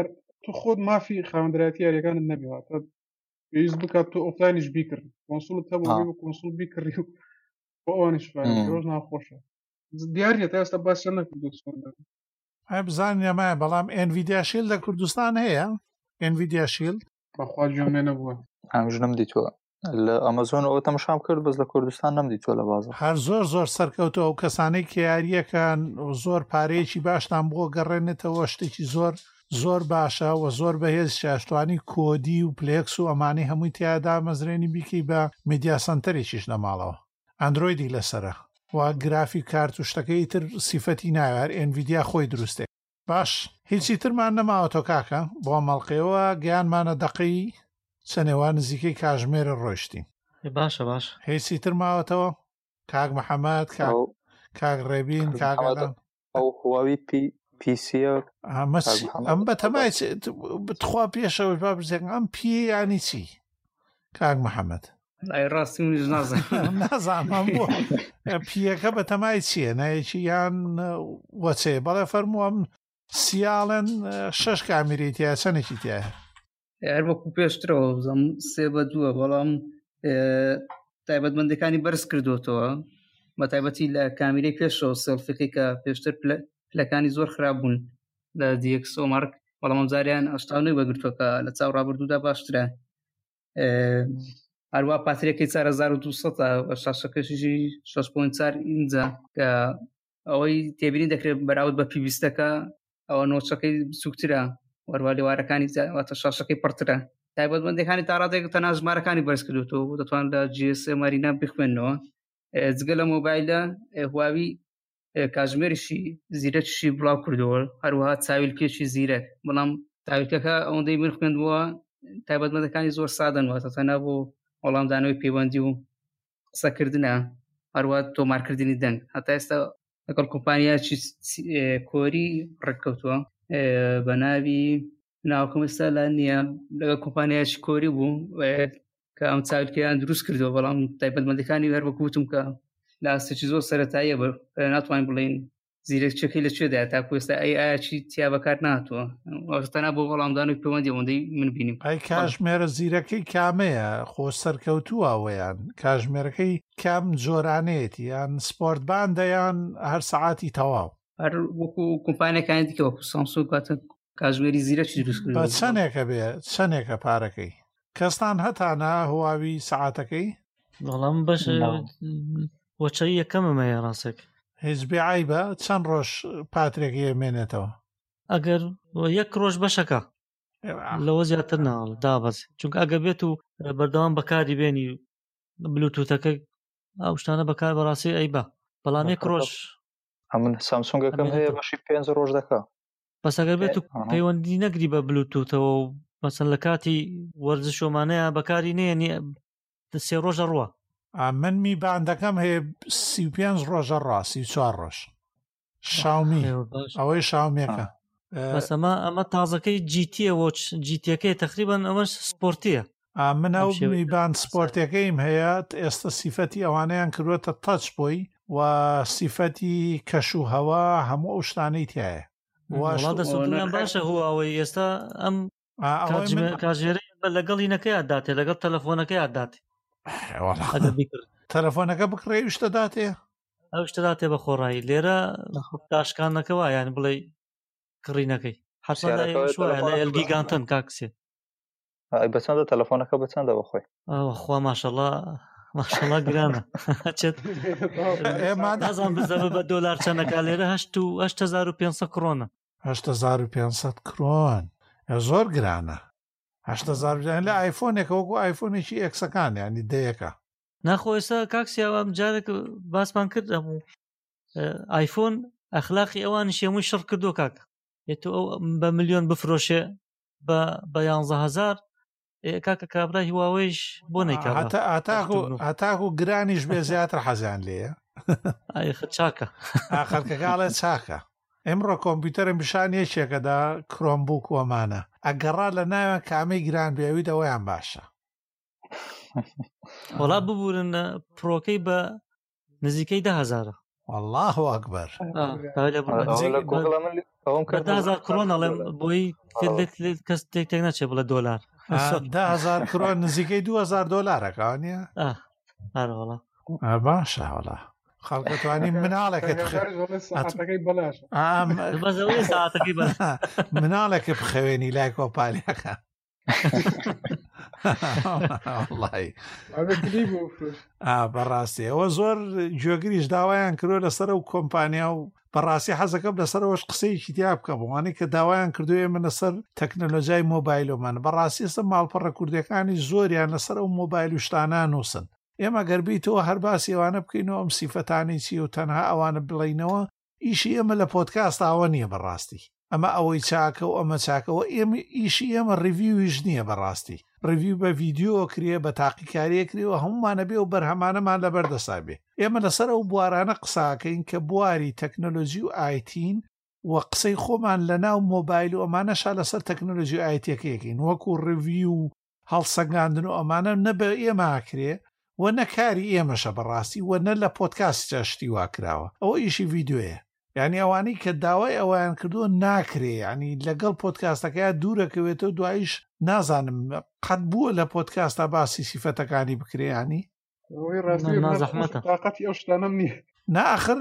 تو خۆت مافی خاوەندرایەتی یاریەکانت نەبیەوە تا پێویست بکات تۆ ئۆفلاینش بیکردی کۆنسۆڵت هەبوو بۆ کۆنسۆڵ بیکڕی و بۆ ئەوانش ڕۆژ ناخۆشە دیارە تا ئێستا باس نەکردو بزانین ئەمایە بەڵام NVIDIA Shield لە کوردستان هەیە NVIDIA Shield بەخوا گوێم لێ نەبووە ئەمژ نەمدیتووە لە ئەمازۆن ئەوە تەماشام کرد بەس لە کوردستان نەمدیتووە لە بازار هەر زۆر سەرکەوتەوە و کەسانەی کە یاریەکان زۆر پارەیەکی باشتان بۆ گەڕێنێتەوە شتێکی زۆر باشە و زۆر بەهێز شاشتوانی کۆدی و پلێکس و ئەمانەی هەمووی تیادا مەزرێنی بیکەی بە میدیا سنتەرێکیش لە ماڵەوە ئەندرۆیدی لەسرە و گرافی کارت و شتەکەی تر سیفەتی ناوێت NVIDIA خۆی دروستێ باش هیچی ترمان نەماوەتۆ کاکە بۆ مەڵقەوە گیانمانە دەقەی چەنێوان نزیکەی کاژمێرە ڕۆیشتین باشە هیچی تر ماوەتەوە کاک محەممەد کاک ڕێبین کاگەڵان ئەو هواوی پیسیە ئەم بە تەمای بتخوا پێشەوەی با بزێن ئەم پێ ینی چی کاک محەممەد ڕاستی منیش نازانم بۆ پیەکە بە تەمای چییە نایەکی یان وەچێ بەڵێ فەرمووەم سیاڵەن 6 کامیرێتیە چەندێکی تایە هەر وەکو پێشترەوە بزەم 3-2 بەڵام تایبەتمەندەکانی بەرز کردوتەوە بە تایبەتی لە کامیرەی پێشەوە سێڵفەکەی کە پێشتر پلەکانی زۆر خراپ بوون لە DxO مارک بەڵام ئەم جاریان 89 بەگرتووەکە لە چاو ڕابردوودا باشترە هەروە پاترێکی 4200 شاشەکەشی 6.4 ئینجا کە ئەوەی تێبینی دەکرێت بەراورد بە پیویستەکە ئەوە نۆچەکەی بچووکترە وەروە لێوارەکانی واتە شاشەکەی پڕترە تایبەتمەندەکانی تا ڕادێک تەنها ژمارەکانی بەرز کردوتەوە دەتوان لە GSM مارینا بخوێنەوە جگە لە مۆبایلە هواوی کاژمێریشی زیرەکیشی بڵاو کردەوە هەروەها چاویلکێکی زیرەک بەڵام تاویلکەکە ئەوەندەی من خوێندبووە تایبەتمەندەکانی زۆر سادەنەوە تەنها بۆ وەڵامدانەوەی پەیوەندی و قسەکردنە هەروە تۆمارکردنی دەنگ هەتا ئێستا لەگەڵ کۆمپانیایکی کۆری ڕێککەوتووە بە ناوی ناوکەم ئێستا لا نییە لەگەڵ کۆمپانیایکی کۆری بوو کە ئەم چاویلکەیان دروست کردەوە بەڵام تایبەتمەندەکانی هەر وەکوتم کە لە ئاستێکی زۆر سەرەتاییە ناتوانین بڵین زیرەکچەکەی لەکوێدایە تاکو ئێستا ئایاچی تیا بەکار نهاتووە تەنها بۆ وەڵامدانەوەی پەیوەندی ئەوەندەی من بینیم ئەی کاژمێرە زیرەکەی کامەیە خۆ سەرکەوتووە ئەوەیان کاژمێرەکەی کام جۆرانەیەتی یان سپۆرتباندە یان هەر سەعاتی تەواو هەر وەکو کۆمپانیەکانی دیکە وەکو سامسونگ کاتە کاژمێری زیرەکی دروست کردووە بە چەندێکە بێ چەندێکە پارەکەی کەستان هەتانە هواوی سەعاتەکەی بەڵام بەش وەچەی یەکەمەمەیە ڕاستێک هیچ بێعیبە چەند ڕۆژ پاترێکی ئەمێنێتەوە ئەگەر یەک ڕۆژ بەشەکە لەوە زیاتر ناڵ دابەز چونکە ئەگە بێت و بەردەوام بەکاری بێنی بلوتوتەکە ئەو شتانە بەکار بەڕاستی ئەیبە بەڵام یەک ڕۆژ من سامسونگەکەم هەیە بەشی 5 ڕۆژ دەکە بەس ئەگەر بێت و پەیوەندی نەگری بە بلوتوتەوە و مەسەن لە کاتی وەرزش ومانەیە بەکاری نێنی 3 ڕۆژە ڕوە من میباندەکەم هەیە 35 ڕۆژە ڕ 34 ڕۆژ شاومی ئەوەی شاومێکە بەس ئەمە تازەکەی جیتیە جیتیەکەی تقریبان ئەوەش سپۆرتیە من ئەو میباند سپۆرتەکەیم هەیە ئێستا سیفەتی ئەوانەیان کردوێتە تەچ بۆی و سیفەتی کەش و هەوا هەموو ئەو شتانەی تایە دەسوودیان باشە هواوەی ئێستا ئەم کاژێرەی لەگەڵی نەکەی ئاداتێ لەگەڵ تەلەفۆنەکەی ئاداتی تەلەفۆنەکە بکڕێ شتە داتێ ئەو شتە داتێ بە خۆڕایی لێرە تاشکانەکەەوە یان بڵێ کڕینەکەی حەسوە ئەلگیگانتن کاکسێ بەچەندە تەلەفۆنەکە بەچەندە بەخۆی خوا ماشەڵڵا گرانە نازان بزەبە بە دۆلار چەندەکە لێرە 8500 کڕۆنە 8500 کڕۆن زۆر گرانە 80,000 لە ئایفۆنێکە وەکو ئایفۆنێکی ئەکسەکان ینی دەیەکە ناخۆ ئێستا کاکسیاوە جارێک باسمان کرد هەموو ئایفۆن ئەخلاقی ئەوانی شێمووی شڕ کردو کاک ئێتو ئەو بە ملیۆن بفرۆشێ بە 11,000 کاکە کابرای هواوەیش بۆ نەیکا هەتاکو گرانیش بێ زیاتر حەزیان لێیە چاکە خەڵکەکاڵێ چاکە ئەمڕۆ کۆمپیوتەرم پیشان یەکێکەدا کرۆمبووک وەمانە ئەگەڕا لە ناوێن کامەی گران بێوی دەوەیان باشە وەڵا ببورن پرۆکەی بە نزیکەی 10,000 والله أكبر $10,000 كرون بوي کەس تێک ناچێت بڵێ $10,000 $10,000 كرون نزیکەی $2,000 کەوانە هەروەڵا باشە وڵا خەڵکەتوانی مناڵێکە بخەوێنی لای کۆپالەکە بەڕاستی ئەوە زۆر گوێگریش داوایان کردو لەسەر و کۆمپانیا و بەڕاستی حەزەکەم لەسەرەوەش قسەیەکی تیا بکە بۆوانەی کە داوایان کردوێ من لەسەر تەکنەلۆژیای مۆبایلۆمان بەڕاستی ئێستا ماڵپەڕە کوردەکانی زۆریان لەسەر ئەو مۆبایل و شتانە نووسن ئێمە گەربیتەوە هەر باسی ئەوانە بکەینەوە ئەم سیفەتانی چی و تەنها ئەوانە بڵینەوە ئیشی ئێمە لە پۆدکاست ئاوە نییە بەڕاستی ئەمە ئەوەی چاکە و ئەمە چاکەوە ئێمە ئیشی ئێمە ڕیڤیویش نییە بەڕاستی ڕیڤیو بە ڤیدیۆ کرێ بە تاقیکاریە کرێەوە هەمومانە بێ و بەرهەمانەمان لەبەردەسا بێ ئێمە لەسەر ئەو بوارانە قساکەین کە بواری تەکنۆلۆژی و ئایتین و قسەی خۆمان لە ناو مۆبایل و ئەمانەشا لەسەر تەکنۆلۆژی و ئایتیەکەیەکەین وەکو ڕیڤیو و هەڵسەنگاندن و ئەمانە نە بە ئێماکرێ و نەکاری ئێمەشە بەڕاستی و نە لە پۆدکاستە شتی واکراوە ئەوە ئیشی ڤیددیوەیە یعنی ئەوانەی کە داوای ئەویان کردووە ناکرێ ینی لەگەڵ پۆدکاستەکە دوورەکەوێتەوە دوایش نازانم قەت بووە لە پۆدکاستە باسی سیفەتەکانی بکرێیانی طاقەتی ئەو شتانەم نییە ناخر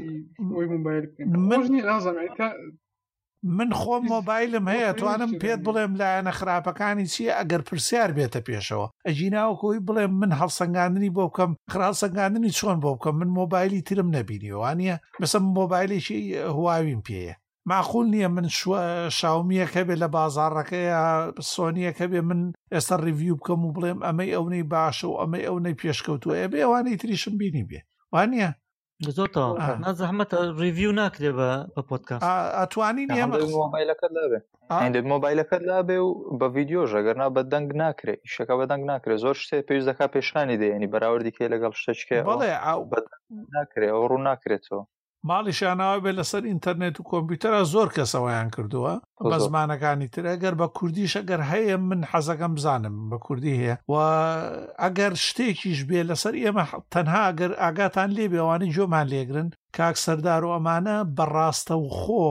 من من خۆم مۆبایلم هەیە توانم پێت بڵێم لایەنە خراپەکانی چییە ئەگەر پرسیار بێتە پێشەوە ئەجیناوەکۆی بڵێم من هەڵسەنگاندنی بۆ بکەم خراڵسەنگاندنی چۆن بۆ بکەم من مۆبایلی ترم نەبینیوانە بەسم مۆبایلێکی هواویم پێیە معقول نییە من شاومیەکە بێ لە بازاڕەکەیە سۆنیەکە بێ من ئێستا ڕیڤیو بکەم و بڵێم ئەمەی ئەوەی باشە و ئەمەی ئەوەی پێشکەوتووە بێ ئەوانەی تریشم بینی بێ وانە زۆرتەوە نازەحمەتە ڕیڤیو ناکرێ بە پۆدکاست ئەتوانین ئێمە مۆبایلەکەت لابێ هەندێک مۆبایلەکەت لابێ و بە ڤیدیۆژ ئەگەرنا بە دەنگ ناکرێت ئیشەکە بە دەنگ ناکرێت زۆر شتێ پێویست دەکات پێشخانی دێنی بەراوردی کێ لەگەڵ شتێکێ ناکرێت ئەو ڕوو ناکرێتەوە ماڵیشانەوە بێت لەسەر ئینتەرنێت و کۆمپیوتەرە زۆر کەسەوەیان کردووە بە زمانەکانی تر ئەگەر بە کوردیش ئەگەر هەیە من حەزەکەم بزانم بە کوردی هەیە و ئەگەر شتێکیش بێ لەسەر ئێمە تەنها ئەگەر ئاگاتان لێ بێوانی جۆمان لێگرن کاک سەردار و ئەمانە بەڕاستە و خۆ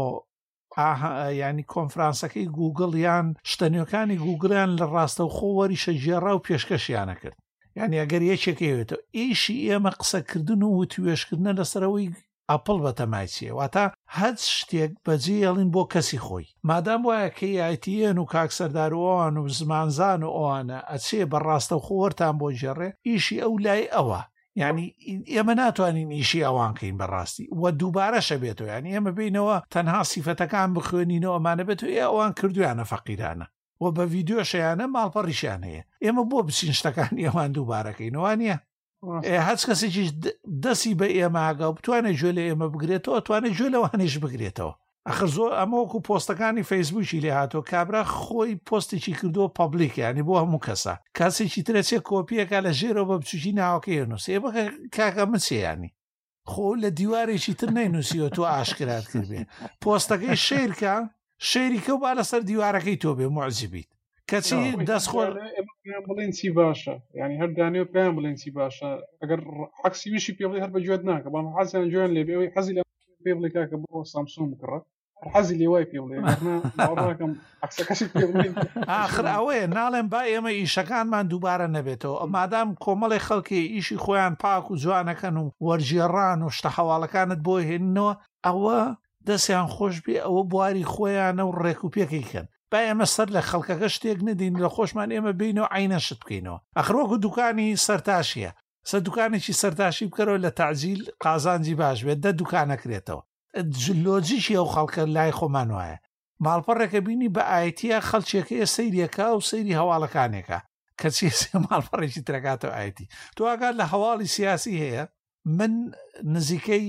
ینی کۆنفرانسەکەی گوگڵ یان شتەنیەکانی گوگلیان لە ڕاستە و خۆ وەریشە ژێڕا و پێشکەشیانە کرد یعنی ئەگەر یەکێکەوێتەوە ئیشی ئێمە قسەکردن و توێشکردنە لەسەرەوەی ئەپڵ بە تەمایچیە واتە هەچ شتێک بەجێ هێڵین بۆ کەسی خۆی مادام وایە کە یایتیەن و کاک سەردارەوەوان و زمانزان و ئەوانە ئەچێ بەڕاستە و خۆوەرتان بۆ ژێڕێ ئیشی ئەو لای ئەوە یعنی ئێمە ناتوانین ئیشی ئەوانکەین بەڕاستی وە دووبارەشە بێتەوە ینی ئێمە بینەوە تەنها سیفەتەکان بخوێنینەوە ئەمانە بێتەوە ئەوان کردویانە فەقیرانە و بە ڤیددیۆشیانە ماڵپەڕیشیان هەیە ئێمە بۆ بچین شتەکانی ئەوان دووبارەکەینەوە نییە هەچ کەسێکیش دەستی بە ئێماگە و بتوانێت گوێ لە ئێمە بگرێتەوە توانێت گوێ لەوانش بگرێتەوە ئەخر زۆر ئەمە وەکو پۆستەکانی فەیسبووکی لێ هاتۆ کابرا خۆی پۆستێکی کردووە پەبلیک ینی بۆ هەموو کەسە کاسێکی ترەچێت کۆپیەکە لە ژێرەوە بە بچوکی ناوەکەی نووس ێ بەکە کاکە مچێیانی خۆ لە دیوارێکی تر نەینووسیوە تۆ ئاشکرات کردبێ پۆستەکەی شێرکە شێریکە و با لەسەر دیوارەکەی تۆ بێ معجبیت کەچی دەستخۆر بڵێن چی باشە ینی هەردانێ و پێیان بڵێن چی باشە ئەگەر عکسی ویشی پێ بڵێ هەر بە گوێت ناکە بەڵام حەزیان گوێیان لێ بێ حەزی لە پێ بڵێ کاکە بۆ سامسۆن بکڕە حەزی لێ وای پێ بڵێ ناکەم عکسەکەشی پێ بڵێن ئاخر ئەوەیە ناڵێن با ئێمە ئیشەکانمان دووبارە نەبێتەوە مادام کۆمەڵی خەڵکی ئیشی خۆیان پاک و جوانەکەن و وەرجێڕان و شتە حەواڵەکانت بۆ هێننەوە ئەوە دەستیان خۆش بێ ئەوە بواری خۆیانە و ڕێک و پێکەیکەن با ئێمە سەر لە خەڵکەکە شتێک نەدین لە خۆشمان ئێمە بینەوە عینەشت بکەینەوە ئەخرۆکو دوکانی سەرتاشیە سەر دوکانێکی سەرتاشی بکەرەوە لە تعجیل قازانجی باش بێت دە دوکانەکرێتەوە لۆجیکی ئەو خەڵکە لای خۆمان وایە ماڵپەڕێکە بینی بە ئایتیە خەڵکێکەیە سەیرێکە و سەیری هەواڵەکانێکە کە چێسێ ماڵپەڕێکی ترەکاتەوە ئایتی تۆ ئاگات لە هەواڵی سیاسی هەیە من نزیکەی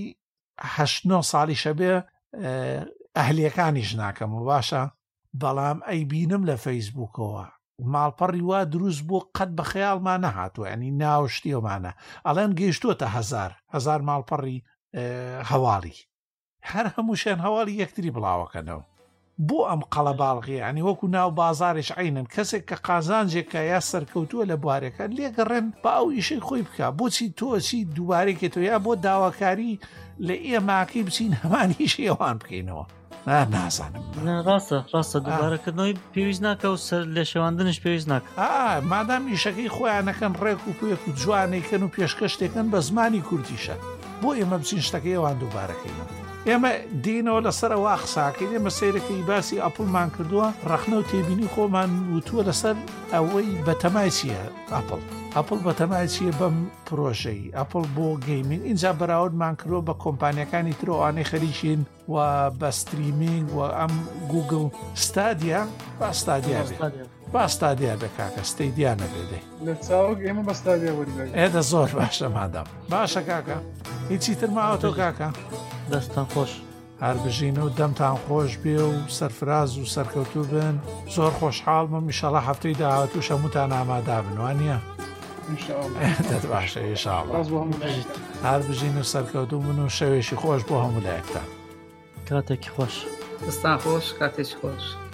8 ساڵی شەبێ ئەهلیەکانیش ناکەم و باشە بەڵام ئەی بینم لە فەیسبووکەوە ماڵپەڕی وا دروست بۆ قەت بە خەیاڵمان نەهاتوە ینی ناوشتیەوەمانە ئەڵێن گەیشتووەتە هەزار ماڵپەڕی هەواڵی هەر هەمووشیان هەواڵی یەکتری بڵاوەکەنەوە بۆ ئەم قەڵە باڵغی ینی وەکو ناو بازارش عینن کەسێک کە قازانجێکە یا سەرکەوتووە لە بوارەکە لێگەڕێن بە ئەو ئیشەی خۆی بکە بۆچی تۆچی دووبارێکێتەوە یا بۆ داواکاری لە ئێماکەی بچین هەمانیش ئێوان بکەینەوە نازانم ڕاستە دووبارەکردنەوەی پێویست ناکە و سەر لە شێواندنش پێویست ناکە مادام ئیشەکەی خۆیانەکەن ڕێک و پێک و جوانێکن و پێشکەشتێکن بە زمانی کوردیشە بۆ ئێمە بچین شتەکەی ئەوان دووبارەکەینەوە ئێمە دینەوە لەسەرەوە قساکەین ئێمە سیرەکەی باسی ئەپڵمان کردووە ڕەخنە و تێبینی خۆمان وتووە لەسەر ئەوەی بەتەمای چییە ئەپڵ بەتەمای چییە بەم پرۆژەی ئەپڵ بۆ گەیمین اینجا بەراوردمان کردۆ بە کۆمپانیەکانی ترۆوانەی خەریکین و بە ستریمینگ و ئەم گوگل ستادیا باستادیا بە کاکە ستەیدیانە بێدەی لە چاوەک ئێمە بەستادیا وەریگەی ئێدە زۆر باشە مادام باشە کاکە هیچی تر ماوە تۆ کاکە دەستان خۆش هەر بژین و دەمتان خۆش بێ و سەرفراز و سەرکەوتوو بن زۆر خۆشحاڵمم ئیشەڵە هەفتەی داهاتوو شەموتان ئامادا بن وانە دەت باشە ئێشاڵ هەر بژین و سەرکەوتوو بن و شەوێشی خۆش بۆ هەموو لایەکتان کاتێکی خۆش دەستان خۆش کاتێکی خۆش